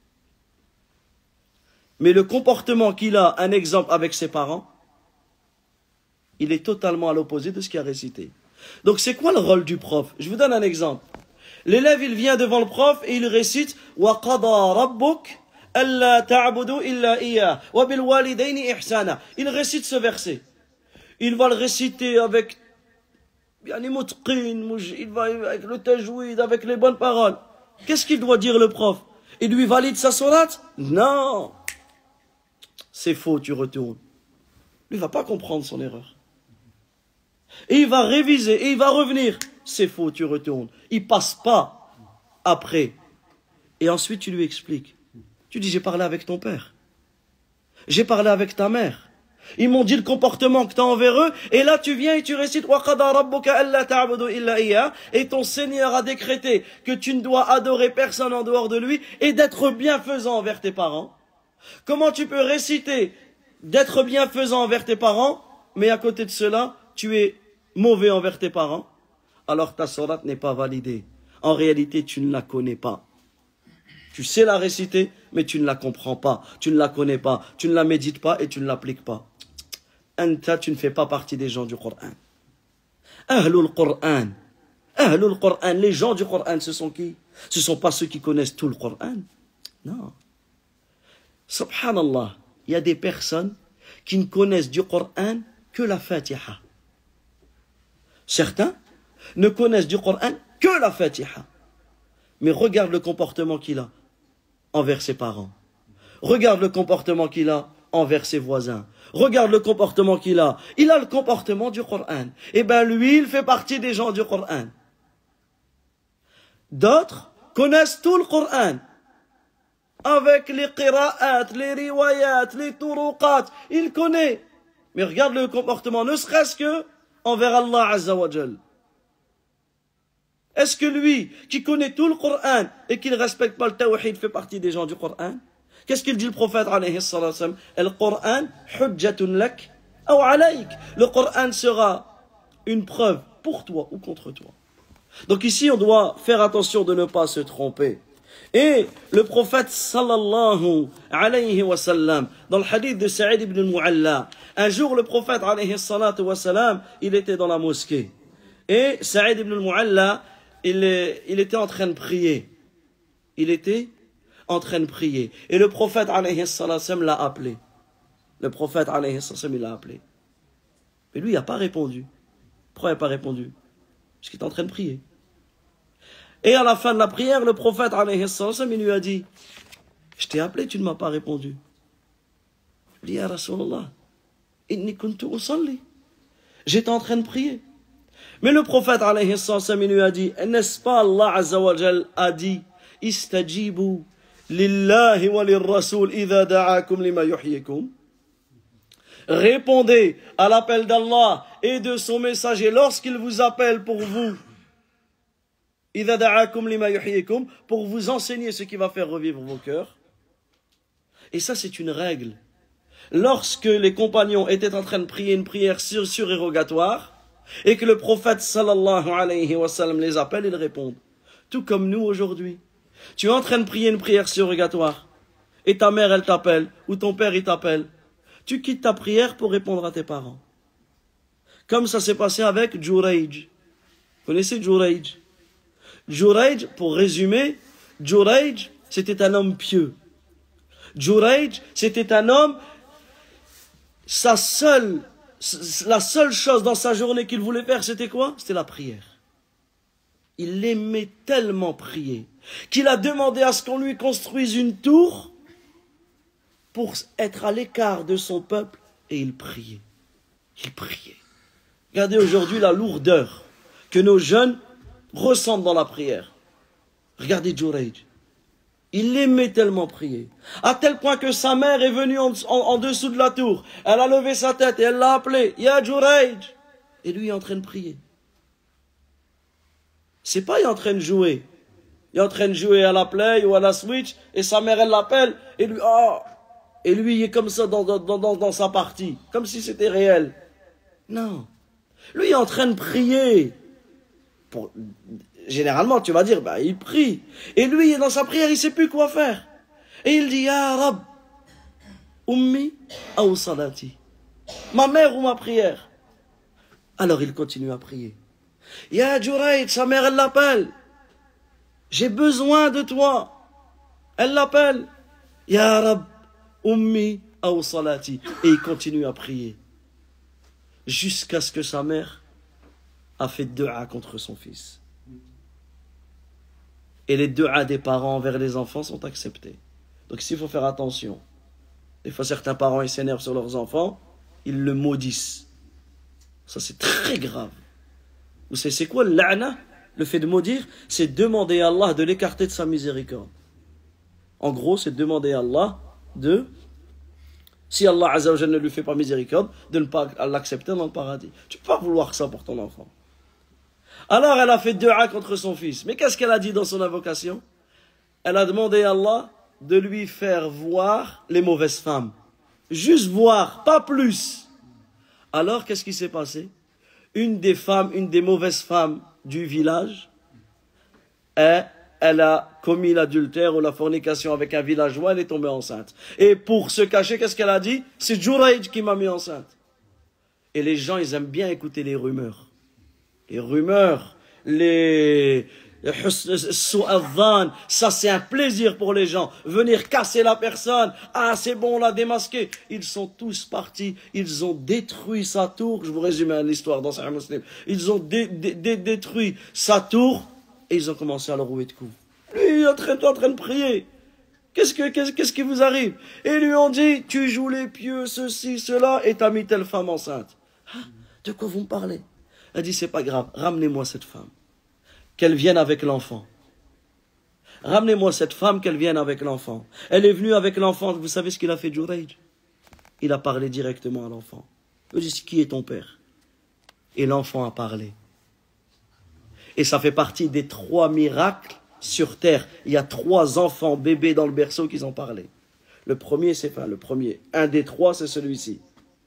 Mais le comportement qu'il a, un exemple avec ses parents, il est totalement à l'opposé de ce qu'il a récité. Donc c'est quoi le rôle du prof? Je vous donne un exemple. L'élève, il vient devant le prof et il récite « Wa qada rabbuk alla ta'budu illa iya wa bil walidayni ihsana » Il récite ce verset. Il va le réciter avec il va avec le tajwid, avec les bonnes paroles. Qu'est-ce qu'il doit dire le prof? Il lui valide sa sourate? Non. C'est faux, tu retournes. Lui ne va pas comprendre son erreur. Et il va réviser, et il va revenir. C'est faux, tu retournes. Il ne passe pas après. Et ensuite, tu lui expliques. Tu dis, j'ai parlé avec ton père. J'ai parlé avec ta mère. Ils m'ont dit le comportement que tu as envers eux. Et là, tu viens et tu récites « Wa qada rabbuka alla ta'budu illa iya » et ton Seigneur a décrété que tu ne dois adorer personne en dehors de lui et d'être bienfaisant envers tes parents. Comment tu peux réciter d'être bienfaisant envers tes parents, mais à côté de cela, tu es mauvais envers tes parents, alors ta sourate n'est pas validée. En réalité, tu ne la connais pas. Tu sais la réciter, mais tu ne la comprends pas, tu ne la connais pas, tu ne la médites pas et tu ne l'appliques pas. Anta, tu ne fais pas partie des gens du Coran. Ahlul Coran. Ahlul Coran, les gens du Coran, ce sont qui? Ce ne sont pas ceux qui connaissent tout le Coran. Non. Subhanallah, il y a des personnes qui ne connaissent du Coran que la Fatiha. Certains ne connaissent du Coran que la Fatiha. Mais regarde le comportement qu'il a envers ses parents. Regarde le comportement qu'il a envers ses voisins. Regarde le comportement qu'il a. Il a le comportement du Coran. Eh bien lui, il fait partie des gens du Coran. D'autres connaissent tout le Coran. Avec les qira'at, les riwayat, les turuqat. Il connaît. Mais regarde le comportement, ne serait-ce que envers Allah Azza wa Jal. Est-ce que lui, qui connaît tout le Coran et qui ne respecte pas le tawhid, fait partie des gens du Coran? Qu'est-ce qu'il dit le prophète alayhi salatu wa sallam? Le Coran, hujjatun lak ou alayk. Le Coran sera une preuve pour toi ou contre toi. Donc ici, on doit faire attention de ne pas se tromper. Et le prophète sallallahu alayhi wa sallam, dans le hadith de Saïd ibn al-Mu'alla, un jour le prophète alayhi salatu wa sallam, il était dans la mosquée. Et Saïd ibn al-Mu'alla, il, il était en train de prier. Il était en train de prier. Et le prophète alayhi salatu wa sallam l'a appelé. Le prophète alayhi salatu wa sallam, il l'a appelé. Mais lui, il n'a pas répondu. Pourquoi il n'a pas répondu? Parce qu'il était en train de prier. Et à la fin de la prière, le prophète alayhi salatu wa sallam, il lui a dit, je t'ai appelé, tu ne m'as pas répondu. Il dit, ya Rasulallah, inni kuntu usalli. J'étais en train de prier. Mais le prophète alayhi salatu wa sallam, il lui a dit, n'est-ce pas Allah Azza wa Jal a dit, istajibu lillahi wa lirrasul idha da'akum lima yuhyikum. Répondez à l'appel d'Allah et de son messager lorsqu'il vous appelle pour vous. idha da'akum lima yuhyikum, pour vous enseigner ce qui va faire revivre vos cœurs. Et ça, c'est une règle. Lorsque les compagnons étaient en train de prier une prière sur, surérogatoire, et que le prophète sallallahu alayhi wa sallam les appelle, ils répondent. Tout comme nous aujourd'hui. Tu es en train de prier une prière surrogatoire, et ta mère elle t'appelle, ou ton père il t'appelle. Tu quittes ta prière pour répondre à tes parents. Comme ça s'est passé avec Jurayj. Vous connaissez Jurayj? Jurayj, pour résumer, Jurayj, c'était un homme pieux. Jurayj, c'était un homme, sa seule La seule chose dans sa journée qu'il voulait faire, c'était quoi? C'était la prière. Il aimait tellement prier qu'il a demandé à ce qu'on lui construise une tour pour être à l'écart de son peuple, et il priait. Il priait. Regardez aujourd'hui la lourdeur que nos jeunes ressentent dans la prière. Regardez Jurayj. Il aimait tellement prier, à tel point que sa mère est venue en, en, en dessous de la tour. Elle a levé sa tête et elle l'a appelé. Ya Jurayj. Et lui il est en train de prier. C'est pas il est en train de jouer. Il est en train de jouer à la play ou à la switch et sa mère elle l'appelle et lui oh, et lui il est comme ça dans, dans, dans, dans sa partie, comme si c'était réel. Non. Lui il est en train de prier. Pour... Généralement, tu vas dire, bah, il prie. Et lui, dans sa prière, il ne sait plus quoi faire. Et il dit, Ya Rab, ummi ou salati. Ma mère ou ma prière. Alors il continue à prier. Ya Jurayj, sa mère, elle l'appelle. J'ai besoin de toi. Elle l'appelle. Ya Rab, ummi ou salati. Et il continue à prier. Jusqu'à ce que sa mère a fait dua contre son fils. Et les du'a des parents envers les enfants sont acceptés. Donc ici, il faut faire attention. Des fois, certains parents, ils s'énervent sur leurs enfants, ils le maudissent. Ça, c'est très grave. Vous savez, c'est quoi l'a'na? Le fait de maudire, c'est demander à Allah de l'écarter de sa miséricorde. En gros, c'est demander à Allah de, si Allah Azza wa Jalla ne lui fait pas miséricorde, de ne pas l'accepter dans le paradis. Tu ne peux pas vouloir ça pour ton enfant. Alors elle a fait dua contre son fils. Mais qu'est-ce qu'elle a dit dans son invocation? Elle a demandé à Allah de lui faire voir les mauvaises femmes. Juste voir, pas plus. Alors qu'est-ce qui s'est passé? une des femmes, une des mauvaises femmes du village, et elle a commis l'adultère ou la fornication avec un villageois, elle est tombée enceinte. Et pour se cacher, qu'est-ce qu'elle a dit? C'est Jurayj qui m'a mis enceinte. Et les gens, ils aiment bien écouter les rumeurs. Les rumeurs, les... ça c'est un plaisir pour les gens. Venir casser la personne. Ah, c'est bon, on l'a démasqué. Ils sont tous partis. Ils ont détruit sa tour. Je vous résume l'histoire dans Sahih Muslim. Ils ont dé dé dé détruit sa tour et ils ont commencé à le rouer de coups. Lui, il est en train, en train de prier. Qu'est-ce que, qu'est-ce, qu'est-ce qui vous arrive? Et ils lui ont dit, tu joues les pieux, ceci, cela, et t'as mis telle femme enceinte. Ah, de quoi vous me parlez? Elle dit, c'est pas grave, ramenez-moi cette femme. Qu'elle vienne avec l'enfant. Ramenez-moi cette femme, qu'elle vienne avec l'enfant. Elle est venue avec l'enfant. Vous savez ce qu'il a fait, Jurayj? Il a parlé directement à l'enfant. Il dit, qui est ton père? Et l'enfant a parlé. Et ça fait partie des trois miracles sur terre. Il y a trois enfants bébés dans le berceau qui ont parlé. Le premier, c'est enfin le premier. Un des trois, c'est celui-ci.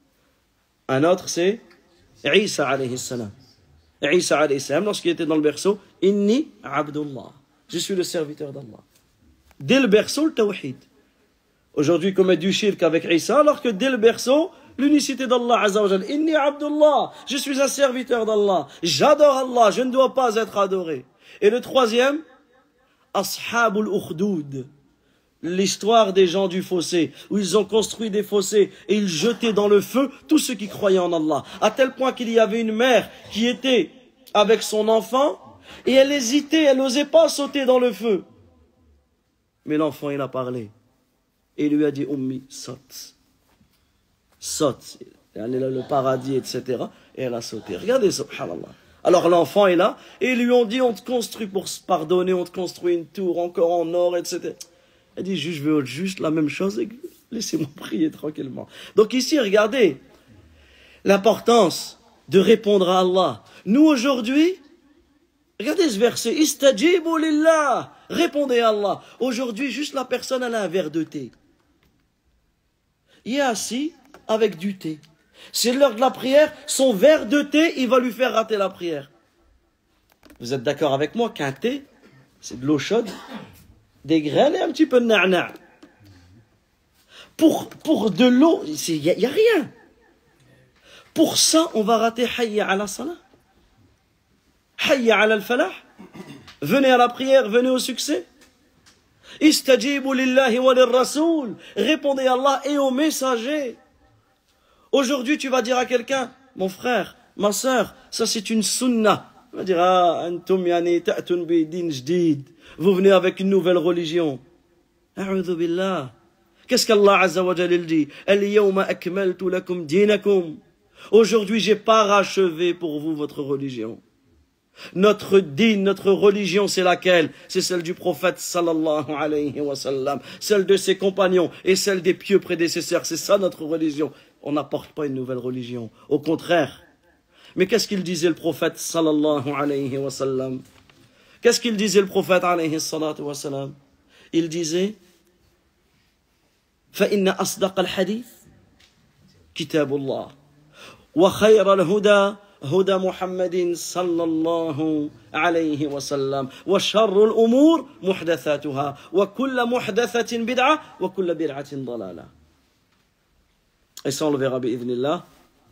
Un autre, c'est Isa alayhi salam. Isa alayhi salam, lorsqu'il était dans le berceau, Inni Abdullah. Je suis le serviteur d'Allah. Dès le berceau, le tawhid. Aujourd'hui, ils commettent du shirk avec Isa, alors que dès le berceau, l'unicité d'Allah Azza wa Jal. Inni Abdullah. Je suis un serviteur d'Allah. J'adore Allah. Je ne dois pas être adoré. Et le troisième, Ashabul Ukhdud. L'histoire des gens du fossé, où ils ont construit des fossés et ils jetaient dans le feu tous ceux qui croyaient en Allah. À tel point qu'il y avait une mère qui était avec son enfant et elle hésitait, elle n'osait pas sauter dans le feu. Mais l'enfant, il a parlé. Et il lui a dit, Ummi, saute. Saute. Elle est là, le paradis, et cetera. Et elle a sauté. Regardez, subhanallah. Alors l'enfant est là et ils lui ont dit, on te construit pour se pardonner, on te construit une tour encore en or, et cetera. Elle dit, je veux juste la même chose et laissez-moi prier tranquillement. Donc ici, regardez l'importance de répondre à Allah. Nous aujourd'hui, regardez ce verset, Istajibu lillah, répondez à Allah. Aujourd'hui, juste la personne, elle a un verre de thé. Il est assis avec du thé. C'est l'heure de la prière, son verre de thé, il va lui faire rater la prière. Vous êtes d'accord avec moi qu'un thé, c'est de l'eau chaude, des graines et un petit peu de na'na'. Pour, pour de l'eau, il n'y a, y a rien. Pour ça, on va rater hayya ala salah. Hayya ala al-falah. Venez à la prière, venez au succès. Istajibu lillahi wa lirrasoul. Répondez à Allah et aux messagers. Aujourd'hui, tu vas dire à quelqu'un, mon frère, ma sœur, ça c'est une sunnah. Il va dire, ah, antum yani ta'tun bi din jdid. Vous venez avec une nouvelle religion. A'udhu billah. Qu'est-ce qu'Allah Azza wa Jalla dit? Al-yawma akmaltu lakum dinakum. Aujourd'hui, j'ai parachevé pour vous votre religion. Notre din, notre religion, c'est laquelle? C'est celle du prophète sallallahu alayhi wa sallam, celle de ses compagnons et celle des pieux prédécesseurs. C'est ça notre religion. On n'apporte pas une nouvelle religion. Au contraire. Mais qu'est-ce qu'il disait le prophète sallallahu alayhi wa sallam? Qu'est-ce qu'il disait le prophète alayhi salatu wa sallam? Il disait فَإِنَّ أَصْدَقَ الْحَدِيثِ كِتَابُ اللَّهِ وَخَيْرَ الْهُدَى هُدَى مُحَمَّدٍ صلى الله عليه وسلم وشر الأمور محدثاتها وكل محدثة بدعة وكل بدعة ضلالة. Et ça on le verra bi'idhnillah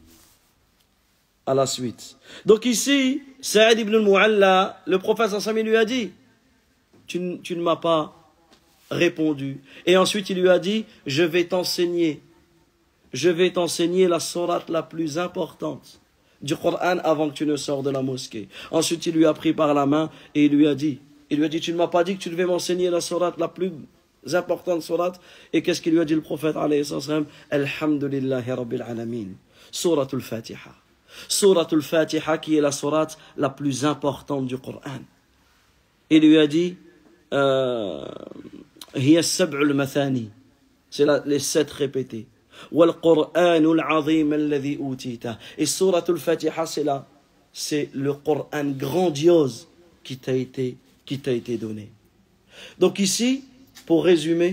à la suite. Donc ici, Saïd ibn al-Mu'alla, le prophète sallallahu alayhi wa sallam lui a dit, tu, tu ne m'as pas répondu. Et ensuite il lui a dit, je vais t'enseigner, je vais t'enseigner la sourate la plus importante du Coran avant que tu ne sors de la mosquée. Ensuite il lui a pris par la main et il lui a dit, il lui a dit, tu ne m'as pas dit que tu devais m'enseigner la sourate la plus importante sourate. Et qu'est-ce qu'il lui a dit le prophète alayhi salam? Alhamdulillahi rabbil alamin. Suratul Fatiha. Suratul Fatiha qui est la sourate la plus importante du Coran. Il lui a dit, euh, hiya sab'ul mathani. C'est les sept répétés. Wal Qur'anul azim alladhi utita. Et Suratul Fatiha, c'est là, c'est le Coran grandiose qui t'a été, qui t'a été donné. Donc ici, pour résumer,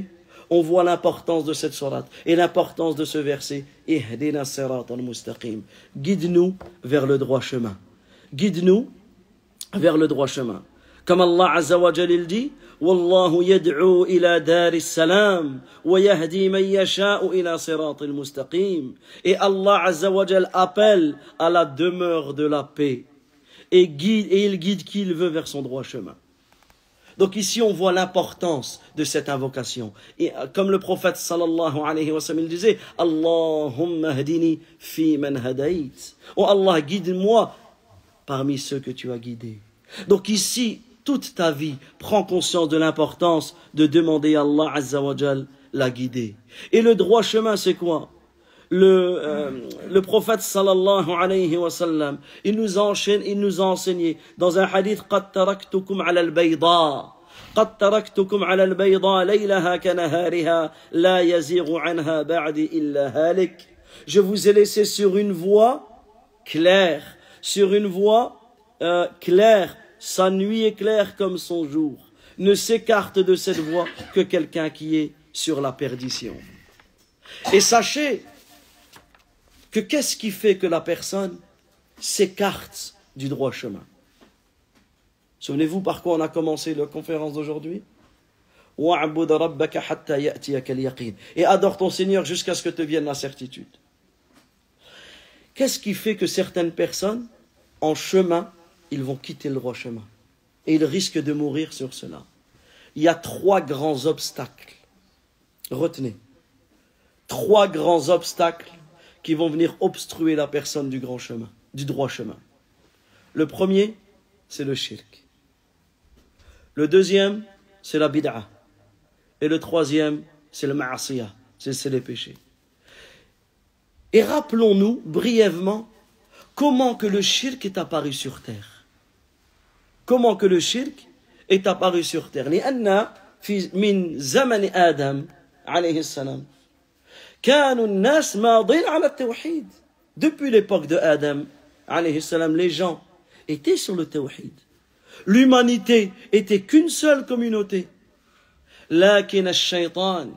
on voit l'importance de cette sourate et l'importance de ce verset. Ihdina siratan mustaqim. Guide-nous vers le droit chemin. Guide-nous vers le droit chemin. Comme Allah Azza wa Jal il dit, Wallahu yad'u ila daris salam wa yahdi man yasha'u ila siratil mustaqim. Et Allah Azza wa Jal appelle à la demeure de la paix et guide et il guide qui il veut vers son droit chemin. Donc ici on voit l'importance de cette invocation. Et comme le prophète sallallahu alayhi wa sallam il disait, Allahumma hadini fi man hadait. Oh Allah, guide-moi parmi ceux que tu as guidés. Donc ici, toute ta vie, prends conscience de l'importance de demander à Allah Azza wa Jal la guider. Et le droit chemin, c'est quoi? Le, euh, le prophète sallallahu alayhi wa sallam, il nous enchaîne, il nous a enseigné dans un hadith, قَدْ تَرَكْتُكُمْ عَلَى الْبَيْضَاءِ قَدْ تَرَكْتُكُمْ عَلَى الْبَيْضَاءِ لَيْلَهَا كَنَهَارِهَا لَا يَزِيغُ عَنْهَا بَعْدِ إِلَّا هَالِكَ. Je vous ai laissé sur une voie claire, sur une voie euh, claire. Sa nuit est claire comme son jour. Ne s'écarte de cette voie que quelqu'un qui est sur la perdition. Et sachez que qu'est-ce qui fait que la personne s'écarte du droit chemin? Souvenez-vous par quoi on a commencé la conférence d'aujourd'hui? Et adore ton Seigneur jusqu'à ce que te vienne la certitude. Qu'est-ce qui fait que certaines personnes, en chemin, ils vont quitter le droit chemin. Et ils risquent de mourir sur cela. Il y a trois grands obstacles. Retenez. Trois grands obstacles qui vont venir obstruer la personne du grand chemin, du droit chemin. Le premier, c'est le shirk. Le deuxième, c'est la bid'a. Et le troisième, c'est le ma'asiyah. C'est, c'est les péchés. Et rappelons-nous brièvement comment que le shirk est apparu sur terre. Comment que le shirk est apparu sur terre. لأن في من زمن آدم عليه السلام كانوا الناس ماضين على التوحيد. Depuis l'époque de Adam عليه السلام, les gens étaient sur le tawhid. L'humanité était qu'une seule communauté. لكن الشيطان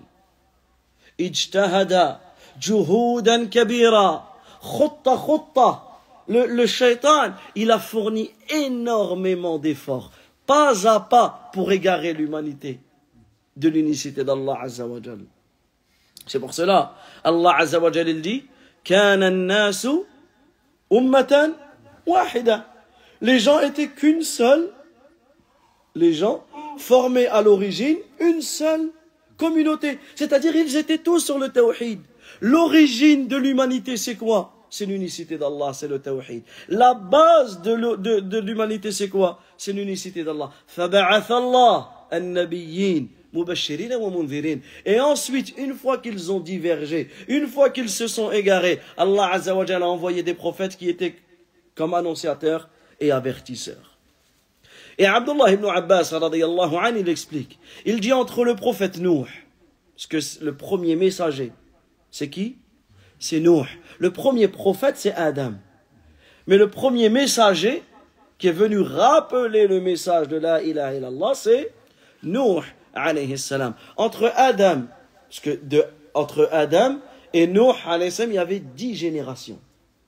اجتهد جهودا كبيرة خطة خطة. Le, le shaitan, il a fourni énormément d'efforts, pas à pas, pour égarer l'humanité de l'unicité d'Allah Azza wa Jal. C'est pour cela, Allah Azza wa Jal, il dit, كَانَ النَّاسُ أُمَّةً وَاحِدًا. Les gens étaient qu'une seule, les gens formaient à l'origine une seule communauté. C'est-à-dire, ils étaient tous sur le tawhid. L'origine de l'humanité, c'est quoi? C'est l'unicité d'Allah, c'est le tawhid. La base de, le, de, de l'humanité, c'est quoi? C'est l'unicité d'Allah. فَبَعَثَ اللَّهُ النَّبِيِّينَ مُبَشِّرِينَ وَمُنذِرِينَ. Et ensuite, une fois qu'ils ont divergé, une fois qu'ils se sont égarés, Allah Azza wa Jalla a envoyé des prophètes qui étaient comme annonciateurs et avertisseurs. Et Abdullah ibn Abbas, radiyallahu anhu, il explique. Il dit entre le prophète Nuh, parce que le premier messager, c'est qui? C'est Nuh. Le premier prophète, c'est Adam. Mais le premier messager qui est venu rappeler le message de la ilaha illallah, c'est Nuh, alayhi salam. Entre Adam, parce que de, entre Adam et Nuh, alayhi salam, il y avait dix générations.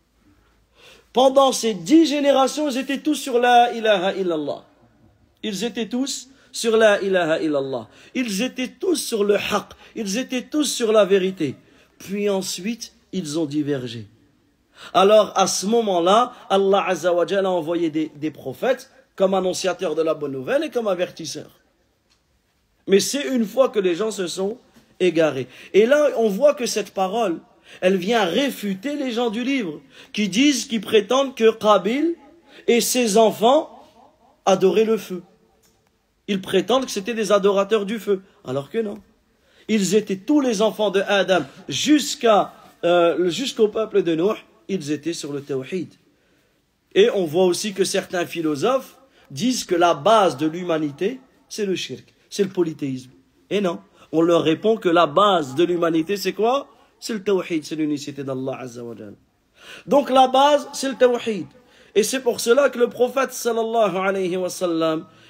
Pendant ces dix générations, ils étaient tous sur la ilaha illallah. Ils étaient tous sur la ilaha illallah. Ils étaient tous sur le haqq. Ils étaient tous sur la vérité. Puis ensuite, ils ont divergé. Alors, à ce moment-là, Allah Azza wa Jalla a envoyé des, des prophètes comme annonciateurs de la bonne nouvelle et comme avertisseurs. Mais c'est une fois que les gens se sont égarés. Et là, on voit que cette parole, elle vient réfuter les gens du livre, qui disent, qui prétendent que Qabil et ses enfants adoraient le feu. Ils prétendent que c'était des adorateurs du feu, alors que non. Ils étaient tous les enfants de Adam jusqu'à Euh, jusqu'au peuple de Nuh, ils étaient sur le tawhid. Et on voit aussi que certains philosophes disent que la base de l'humanité, c'est le shirk, c'est le polythéisme. Et non, on leur répond que la base de l'humanité, c'est quoi? C'est le tawhid, c'est l'unicité d'Allah Azza wa Jal. Donc la base, c'est le tawhid. Et c'est pour cela que le prophète sallallahu alayhi wa sallam,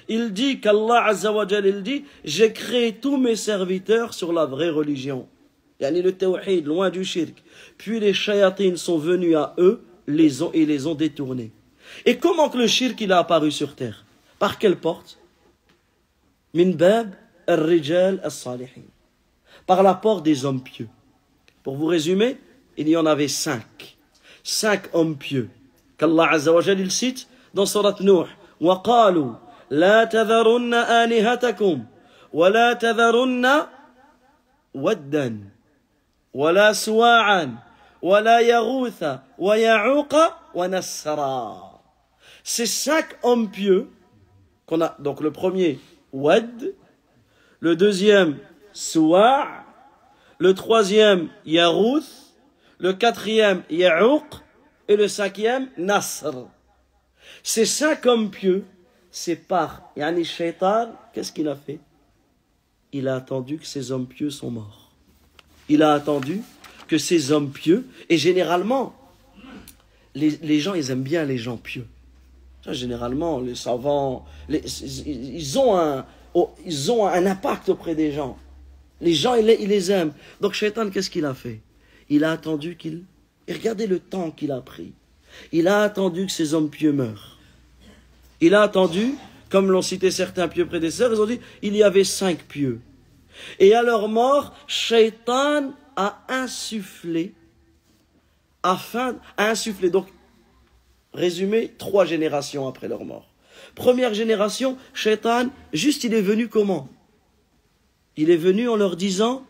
Il dit qu'Allah Azza wa Jal, il dit, j'ai créé tous mes serviteurs sur la vraie religion. Yani le tawhid, loin du shirk. Puis les shayatines sont venus à eux les ont, et les ont détournés. Et comment que le shirk il a apparu sur terre? Par quelle porte? Min bab al-rijal al-salihin. Par la porte des hommes pieux. Pour vous résumer, il y en avait cinq. Cinq hommes pieux. Qu'Allah Azza wa Jal il cite dans Surat Nuh. وَقَالُوا لَا تَذَرُنَّ آلِهَتَكُمْ وَلَا تَذَرُنَّ وَدًّا وَلَا سُوَاعًا وَلَا يَغُوثَ وَيَعُوقَ وَنَسْرًا. Ces cinq hommes pieux, qu'on a, donc le premier, Wad, le deuxième, Suwa', le troisième, Yarouth, le quatrième, Ya'ouq, et le cinquième, Nasr. Ces cinq hommes pieux, c'est par Yani Shaitan, qu'est-ce qu'il a fait? Il a attendu que ces hommes pieux sont morts. Il a attendu que ces hommes pieux, et généralement, les, les gens, ils aiment bien les gens pieux. Généralement, les savants, les, ils, ont un, ils ont un impact auprès des gens. Les gens, ils les, ils les aiment. Donc, Shaitan, qu'est-ce qu'il a fait? Il a attendu qu'il... Et regardez le temps qu'il a pris. Il a attendu que ces hommes pieux meurent. Il a attendu, comme l'ont cité certains pieux prédécesseurs, ils ont dit, il y avait cinq pieux. Et à leur mort, Shaitan a insufflé, afin, a insufflé, donc, résumé, trois générations après leur mort. Première génération, Shaitan, juste il est venu comment? Il est venu en leur disant,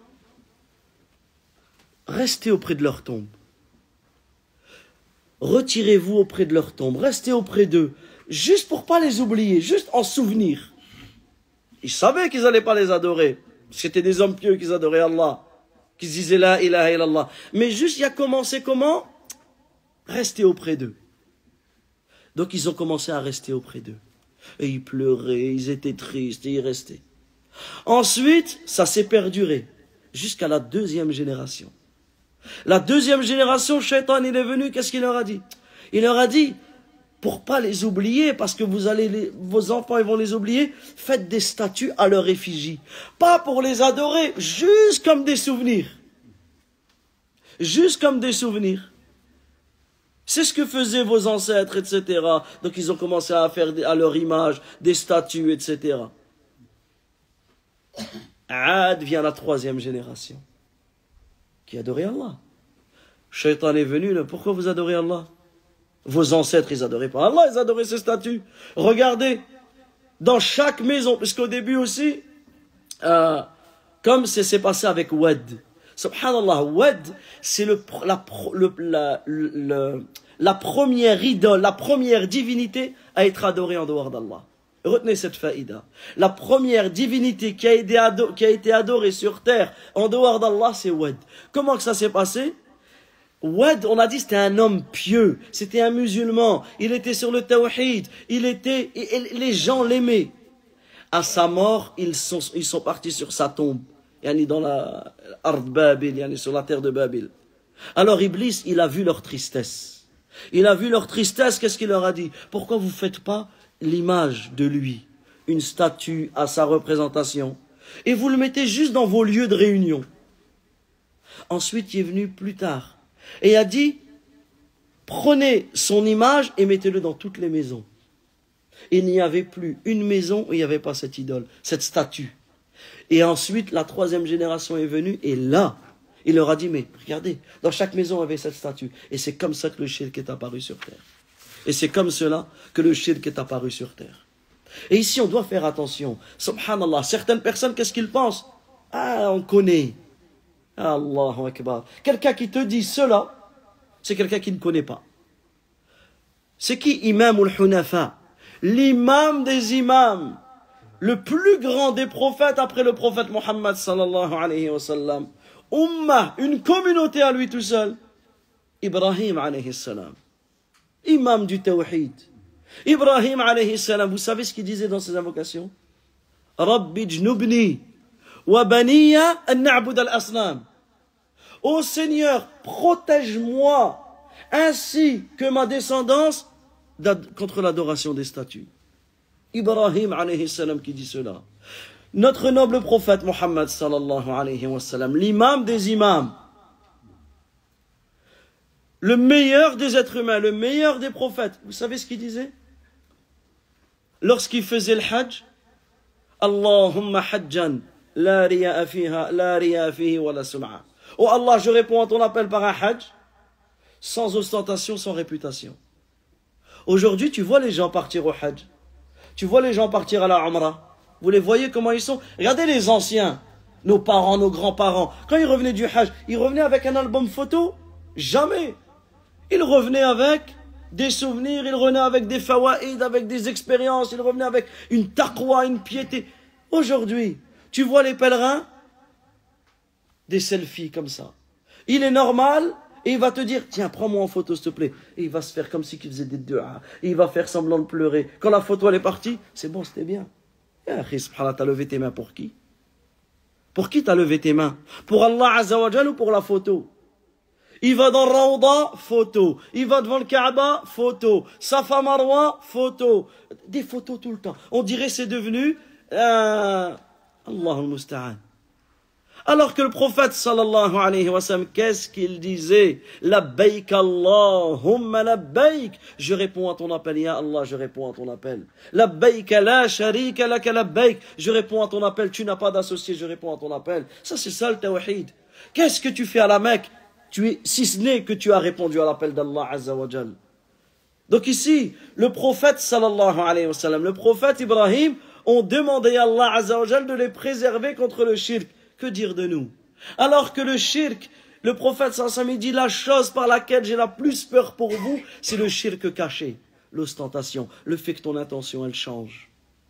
restez auprès de leur tombe. Retirez-vous auprès de leur tombe, restez auprès d'eux, juste pour pas les oublier, juste en souvenir. Ils savaient qu'ils n'allaient pas les adorer. C'était des hommes pieux qui adoraient Allah, qui disaient la ilaha illallah. Mais juste, il a commencé comment? Rester auprès d'eux. Donc ils ont commencé à rester auprès d'eux. Et ils pleuraient, ils étaient tristes, et ils restaient. Ensuite, ça s'est perduré, jusqu'à la deuxième génération. La deuxième génération, Shaitan, il est venu, qu'est-ce qu'il leur a dit? Il leur a dit, pour pas les oublier, parce que vous allez les, vos enfants ils vont les oublier, faites des statues à leur effigie. Pas pour les adorer, juste comme des souvenirs. Juste comme des souvenirs. C'est ce que faisaient vos ancêtres, et cetera. Donc ils ont commencé à faire à leur image des statues, et cetera. Ad vient la troisième génération, qui adorait Allah. Shaitan est venu, là, pourquoi vous adorez Allah? Vos ancêtres, ils adoraient pas Allah, ils adoraient ces statues. Regardez, dans chaque maison, puisqu'au début aussi, euh, comme c'est s'est passé avec Wad. Subhanallah, Wad, c'est le, la, le, la, le, la première idole, la première divinité à être adorée en dehors d'Allah. Retenez cette faïda. La première divinité qui a été adorée, qui a été adorée sur terre en dehors d'Allah, c'est Wad. Comment que ça s'est passé? Wad, on a dit, c'était un homme pieux, c'était un musulman, il était sur le tawhid, il était, et, et les gens l'aimaient. À sa mort, ils sont, ils sont partis sur sa tombe, yani dans la Ard Babil, yani sur la terre de Babil. Alors Iblis, il a vu leur tristesse. Il a vu leur tristesse, qu'est-ce qu'il leur a dit? Pourquoi vous ne faites pas l'image de lui, une statue à sa représentation, et vous le mettez juste dans vos lieux de réunion? Ensuite, il est venu plus tard, et a dit, prenez son image et mettez-le dans toutes les maisons. Il n'y avait plus une maison où il n'y avait pas cette idole, cette statue. Et ensuite, la troisième génération est venue, et là, il leur a dit, mais regardez, dans chaque maison, il y avait cette statue. Et c'est comme ça que le shirk est apparu sur terre. Et c'est comme cela que le shirk est apparu sur terre. Et ici, on doit faire attention. Subhanallah, certaines personnes, qu'est-ce qu'ils pensent? Ah, on connaît. Allahu Akbar. Quelqu'un qui te dit cela, c'est quelqu'un qui ne connaît pas. C'est qui Imam al-Hunafa? L'imam des imams, le plus grand des prophètes après le prophète Mohammed sallallahu alayhi wa sallam. Ummah, une communauté à lui tout seul. Ibrahim alayhi salam. Imam du tawhid. Ibrahim alayhi salam, vous savez ce qu'il disait dans ses invocations? Rabbi jnubni wa baniya an na'bud al-asnam. Ô Seigneur, protège-moi ainsi que ma descendance contre l'adoration des statues. Ibrahim alayhi salam qui dit cela. Notre noble prophète Mohammed sallallahu alayhi wa sallam, l'imam des imams, le meilleur des êtres humains, le meilleur des prophètes. Vous savez ce qu'il disait? Lorsqu'il faisait le hajj, Allahumma hajjan, la riya'a fiha, la riya'a fihi wa la sum'a. Oh Allah, je réponds à ton appel par un hajj, sans ostentation, sans réputation. Aujourd'hui, tu vois les gens partir au hajj. Tu vois les gens partir à la umrah. Vous les voyez comment ils sont? Regardez les anciens, nos parents, nos grands-parents. Quand ils revenaient du hajj, ils revenaient avec un album photo? Jamais. Ils revenaient avec des souvenirs, ils revenaient avec des fawaïd, avec des expériences, ils revenaient avec une taqwa, une piété. Aujourd'hui, tu vois les pèlerins, des selfies comme ça. Il est normal, et il va te dire, tiens, prends-moi en photo s'il te plaît. Et il va se faire comme si il faisait des du'a. Et il va faire semblant de pleurer. Quand la photo elle est partie, c'est bon, c'était bien. Et subhanallah, t'as levé tes mains pour qui? Pour qui t'as levé tes mains? Pour Allah Azza wa Jal ou pour la photo? Il va dans Rawda, photo. Il va devant le Kaaba, photo. Safa Marwa, photo. Des photos tout le temps. On dirait c'est devenu euh, Allah al-Musta'an. Alors que le prophète sallallahu alayhi wa sallam, qu'est-ce qu'il disait? Labbaik Allahumma labbaik. Je réponds à ton appel, ya Allah, je réponds à ton appel. Labbaik la sharika laka labbaik. Je réponds à ton appel, tu n'as pas d'associé, je réponds à ton appel. Ça c'est ça le tawhid. Qu'est-ce que tu fais à la Mecque? Tu es, si ce n'est que tu as répondu à l'appel d'Allah Azza wa Jal. Donc ici, le prophète sallallahu alayhi wa sallam, le prophète Ibrahim, ont demandé à Allah Azza wa Jal de les préserver contre le shirk. Que dire de nous? Alors que le shirk, le prophète sallallahu alayhi wa sallam dit la chose par laquelle j'ai la plus peur pour vous, c'est le shirk caché, l'ostentation, le fait que ton intention elle change.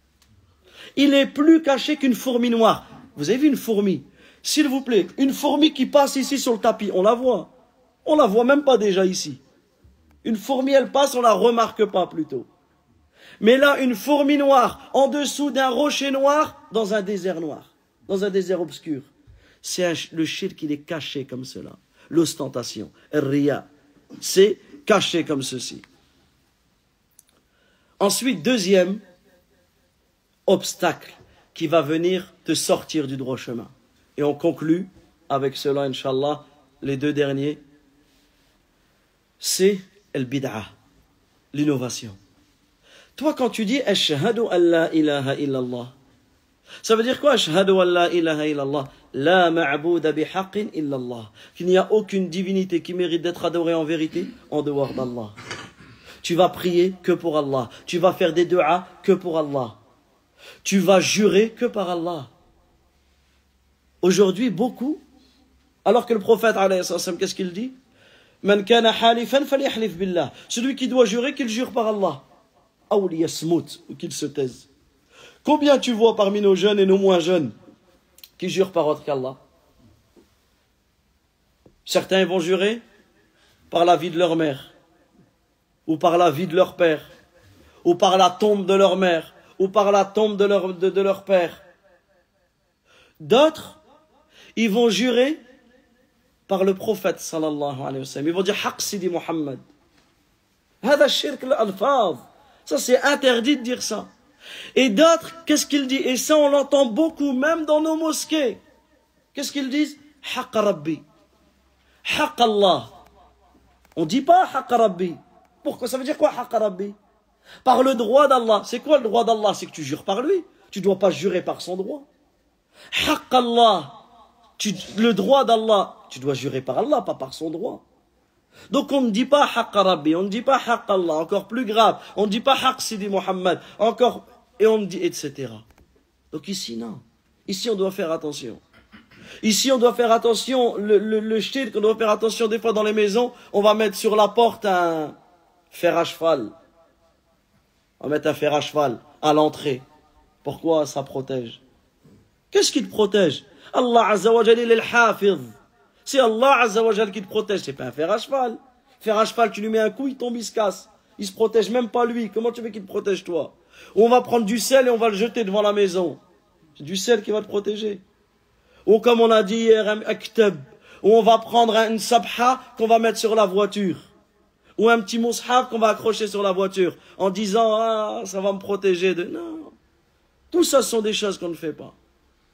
Il est plus caché qu'une fourmi noire. Vous avez vu une fourmi? S'il vous plaît, une fourmi qui passe ici sur le tapis, on la voit. On la voit même pas déjà ici. Une fourmi, elle passe, on la remarque pas plutôt. Mais là, une fourmi noire, en dessous d'un rocher noir, dans un désert noir, dans un désert obscur. C'est le shirk, il est caché comme cela. L'ostentation, riya, c'est caché comme ceci. Ensuite, deuxième obstacle qui va venir te sortir du droit chemin. Et on conclut avec cela, Inch'Allah, les deux derniers. C'est el bid'a, l'innovation. Toi, quand tu dis Ashhadu an la ilaha illallah, ça veut dire quoi? Ashhadu an la ilaha illallah, la ma'bouda bihaqqin illallah, qu'il n'y a aucune divinité qui mérite d'être adorée en vérité en dehors d'Allah. Tu vas prier que pour Allah. Tu vas faire des du'as que pour Allah. Tu vas jurer que par Allah. Aujourd'hui, beaucoup, alors que le prophète, alayhi salam, qu'est-ce qu'il dit? Man kana halifan falyahlif billah. Celui qui doit jurer, qu'il jure par Allah. Ou liyasmut, ou qu'il se taise. Combien tu vois parmi nos jeunes et nos moins jeunes qui jurent par autre qu'Allah? Certains vont jurer par la vie de leur mère, ou par la vie de leur père, ou par la tombe de leur mère, ou par la tombe de leur, de, de leur père. D'autres, ils vont jurer par le prophète sallallahu alayhi wa sallam. Ils vont dire Haq Sidi Muhammad. Hada shirk al-alfaz. Ça c'est interdit de dire ça. Et d'autres, qu'est-ce qu'ils disent? Et ça on l'entend beaucoup, même dans nos mosquées. Qu'est-ce qu'ils disent? Haq Rabbi. Haq Allah. On ne dit pas Haq Rabbi. Pourquoi? Ça veut dire quoi Haq Rabbi? Par le droit d'Allah. C'est quoi le droit d'Allah? C'est que tu jures par lui. Tu ne dois pas jurer par son droit. Haq Allah. Tu, le droit d'Allah, tu dois jurer par Allah, pas par son droit. Donc on ne dit pas Haqq Rabbi, on ne dit pas Haqq Allah, encore plus grave. On ne dit pas Haqq Sidi Muhammad, encore, et on dit et cetera. Donc ici, non. Ici, on doit faire attention. Ici, on doit faire attention, le, le, le shirk, on doit faire attention des fois dans les maisons, on va mettre sur la porte un fer à cheval. On va mettre un fer à cheval à l'entrée. Pourquoi? Ça protège. Qu'est-ce qui te protège? Allah Azza wa Jal, il est le hafiz. C'est Allah Azza wa Jal qui te protège. C'est pas un fer à cheval. Fer à cheval, tu lui mets un coup, il tombe, il se casse. Il se protège même pas lui. Comment tu veux qu'il te protège toi? Ou on va prendre du sel et on va le jeter devant la maison. C'est du sel qui va te protéger. Ou comme on a dit hier, un aktab. Ou on va prendre une sabha qu'on va mettre sur la voiture. Ou un petit mushaf qu'on va accrocher sur la voiture en disant « Ah, ça va me protéger de... » Non. Tout ça, ce sont des choses qu'on ne fait pas.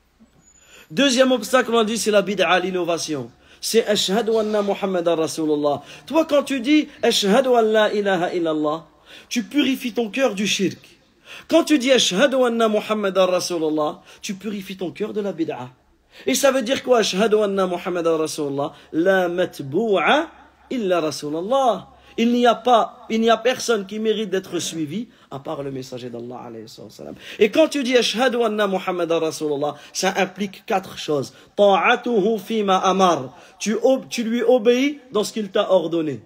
Deuxième obstacle, on dit, c'est la bid'a, l'innovation. C'est « Ashhadu anna Muhammadan Rasulullah ». Toi, quand tu dis « Ashhadu an la ilaha illallah », tu purifies ton cœur du shirk. Quand tu dis « Ashhadu anna Muhammadan Rasulullah », tu purifies ton cœur de la bid'a. Et ça veut dire quoi? Ashhadu anna Muhammadan Rasulullah, la matbou'a illa Rasulullah. Il n'y a pas, il n'y a personne qui mérite d'être suivi à part le messager d'Allah alayhi salam. Et quand tu dis Ashhadu anna Muhammadan Rasulullah, ça implique quatre choses. Ta'atuhu fima amar. Tu, tu lui obéis dans ce qu'il t'a ordonné.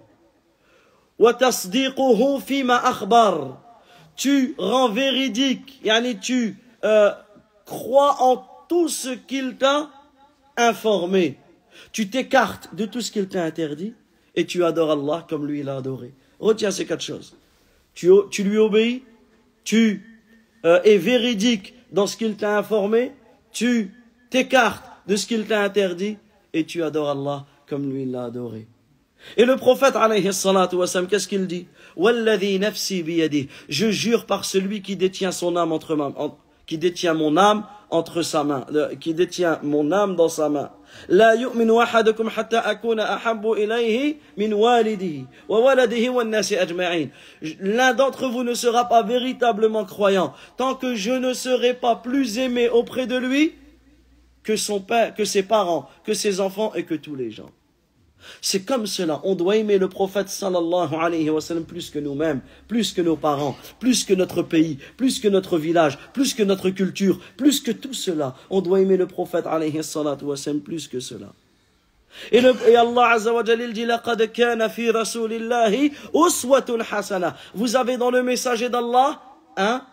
Wa tasdiquhu fima akhbar. Tu rends véridique, yani tu euh, crois en tout ce qu'il t'a informé. Tu t'écartes de tout ce qu'il t'a interdit et tu adores Allah comme lui il a adoré. Retiens ces quatre choses. Tu, tu lui obéis, tu euh, es véridique dans ce qu'il t'a informé, tu t'écartes de ce qu'il t'a interdit et tu adores Allah comme lui il l'a adoré. Et le prophète alayhi salatu wassalam, qu'est-ce qu'il dit? Walladhi nafsi biyadih. Je jure par celui qui détient son âme entre ma, en, qui détient mon âme entre sa main, le, qui détient mon âme dans sa main. La yu'minu ahadukum hatta akuna ahabbu ilayhi min walidihi wa waladihi wan nasi ajma'in. L'un d'entre vous ne sera pas véritablement croyant tant que je ne serai pas plus aimé auprès de lui que son père, que ses parents, que ses enfants et que tous les gens. C'est comme cela, on doit aimer le prophète sallallahu alayhi wa sallam plus que nous-mêmes, plus que nos parents, plus que notre pays, plus que notre village, plus que notre culture, plus que tout cela. On doit aimer le prophète alayhi wa sallam plus que cela. Et, le, et Allah azza wa jalla dit laqad kana fi rasulillahi uswatun hasana. Vous avez dans le messager d'Allah un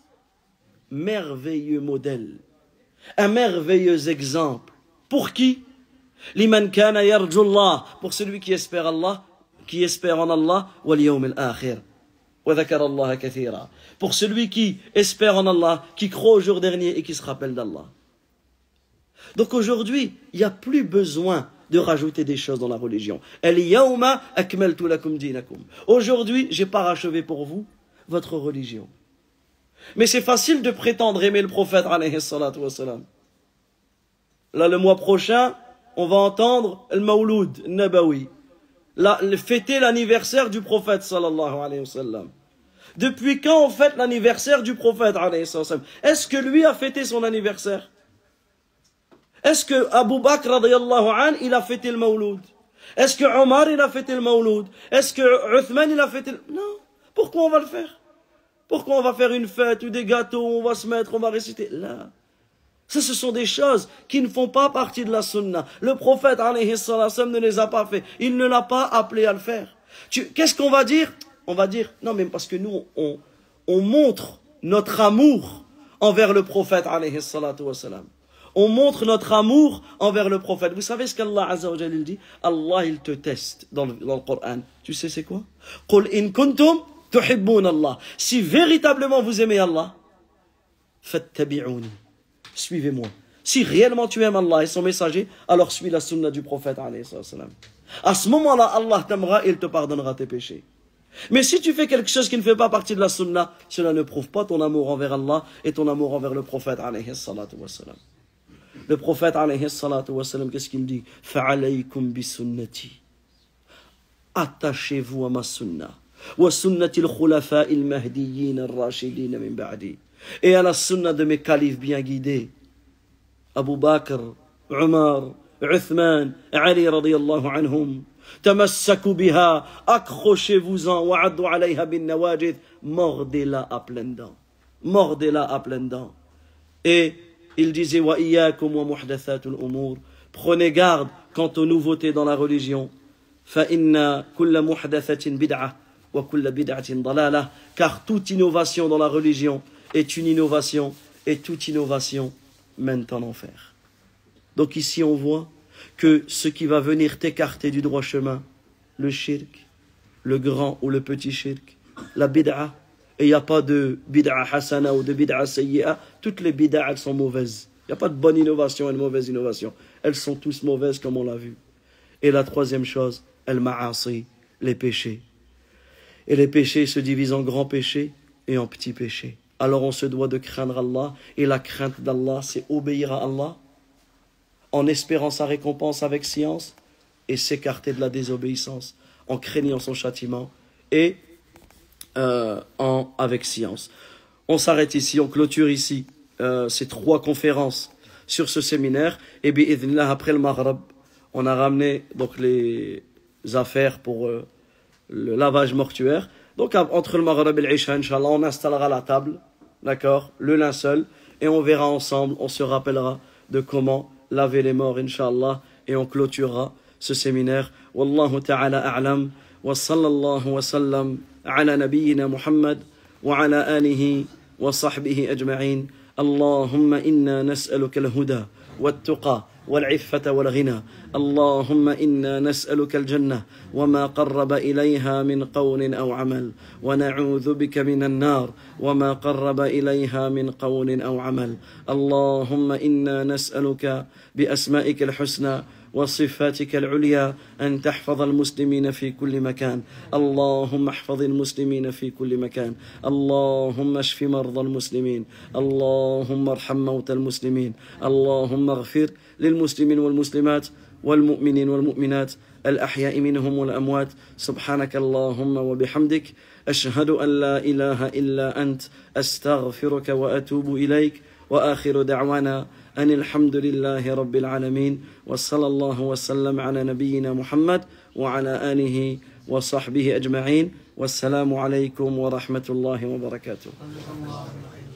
merveilleux modèle, un merveilleux exemple. Pour qui? Liman kana yarjullah, pour celui qui espère Allah, qui espère en Allah, wal yawm al-akhir. Wa dhakara Allah kathira. Pour celui qui espère en Allah, qui croit au jour dernier et qui se rappelle d'Allah. Donc aujourd'hui, il n'y a plus besoin de rajouter des choses dans la religion. Al-yawma akmaltu lakum dinakum. Aujourd'hui, j'ai parachevé pour vous votre religion. Mais c'est facile de prétendre aimer le prophète alayhi salatu wassalam. Là, le mois prochain, on va entendre le Mawloud Nabawi, la, le, fêter l'anniversaire du prophète sallallahu alayhi wa sallam. Depuis quand on fête l'anniversaire du prophète alayhi wa sallam? Est-ce que lui a fêté son anniversaire? Est-ce que Abu Bakr radiyallahu an, il a fêté le Mawloud? Est-ce que Omar il a fêté le Mawloud? Est-ce que Uthman il a fêté le... Non. Pourquoi on va le faire? Pourquoi on va faire une fête ou des gâteaux, on va se mettre, on va réciter? Là. Ça, ce sont des choses qui ne font pas partie de la sunna. Le prophète, alayhi sallam, ne les a pas fait. Il ne l'a pas appelé à le faire. Qu'est-ce qu'on va dire? On va dire, non, mais parce que nous, on, on montre notre amour envers le prophète, alayhi salatu wassalam. On montre notre amour envers le prophète. Vous savez ce qu'Allah Azza wa Jalla dit? Allah, il te teste dans le, dans le Coran. Tu sais c'est quoi? Qul in kuntum tuhibbun Allah. Si véritablement vous aimez Allah, fattabi'uni. Suivez-moi. Si réellement tu aimes Allah et son messager, alors suis la sunna du prophète alayhi salam. À ce moment-là, Allah t'aimera et il te pardonnera tes péchés. Mais si tu fais quelque chose qui ne fait pas partie de la sunna, cela ne prouve pas ton amour envers Allah et ton amour envers le prophète alayhi salatu wassalam. Le prophète alayhi salatu wassalam, qu'est-ce qu'il dit? Fa'alaykum bi sunnati. Attachez-vous à ma sunna. Wa sunnati al-khulafa'i al-mahdiyyin ar-rashidin min ba'di. Et à la sunna de mes califes bien guidés, Abu Bakr, Omar, Uthman, Ali radiyallahu anhum. Tamassaku biha, accrochez-vous-en, wa'addu alayha bin nawajid, mordez-la à pleines dents. Mordez-la à pleines dents. Et il disait, wa iyyakum wa muhdathatul umur, prenez garde quant aux nouveautés dans la religion. Fa inna kulla muhdathatin bid'ah wa kulla bid'atin dalalah, car toute innovation dans la religion est une innovation, et toute innovation mène en enfer. Donc ici on voit que ce qui va venir t'écarter du droit chemin, le shirk, le grand ou le petit shirk, la bid'a, et il n'y a pas de bid'a hasana ou de bid'a sayyi'a, toutes les bid'a elles sont mauvaises. Il n'y a pas de bonne innovation et de mauvaise innovation. Elles sont tous mauvaises comme on l'a vu. Et la troisième chose, el ma'asi, les péchés. Et les péchés se divisent en grands péchés et en petits péchés. Alors on se doit de craindre Allah, et la crainte d'Allah, c'est obéir à Allah en espérant sa récompense avec science et s'écarter de la désobéissance en craignant son châtiment et euh, en, avec science. On s'arrête ici, on clôture ici euh, ces trois conférences sur ce séminaire, et bi'idhnillah, après le Maghreb, on a ramené donc les affaires pour euh, le lavage mortuaire. Donc entre le Maghreb et l'Isha, Inch'Allah, on installera la table, d'accord, le linceul, et on verra ensemble, on se rappellera de comment laver les morts, Inch'Allah, et on clôturera ce séminaire. Wallahu ta'ala a'lam, wa sallallahu wa sallam ala nabiyyina Muhammad, wa ala alihi wa sahbihi ajma'in. Allahumma inna nas'aluka al-huda, wa-tuqa, والعفة والغنى. اللهم إنا نسألك الجنة وما قرب إليها من قول أو عمل، ونعوذ بك من النار وما قرب إليها من قول أو عمل. اللهم إنا نسألك بأسمائك الحسنى وصفاتك العليا أن تحفظ المسلمين في كل مكان. اللهم احفظ المسلمين في كل مكان. اللهم اشف مرضى المسلمين. اللهم ارحم موتى المسلمين. اللهم اغفر للمسلمين والمسلمات والمؤمنين والمؤمنات الأحياء منهم والأموات. سبحانك اللهم وبحمدك أشهد أن لا إله إلا أنت أستغفرك وأتوب إليك. وآخر دعوانا أن الحمد لله رب العالمين، وصلى الله وسلم على نبينا محمد وعلى آله وصحبه أجمعين. والسلام عليكم ورحمة الله وبركاته.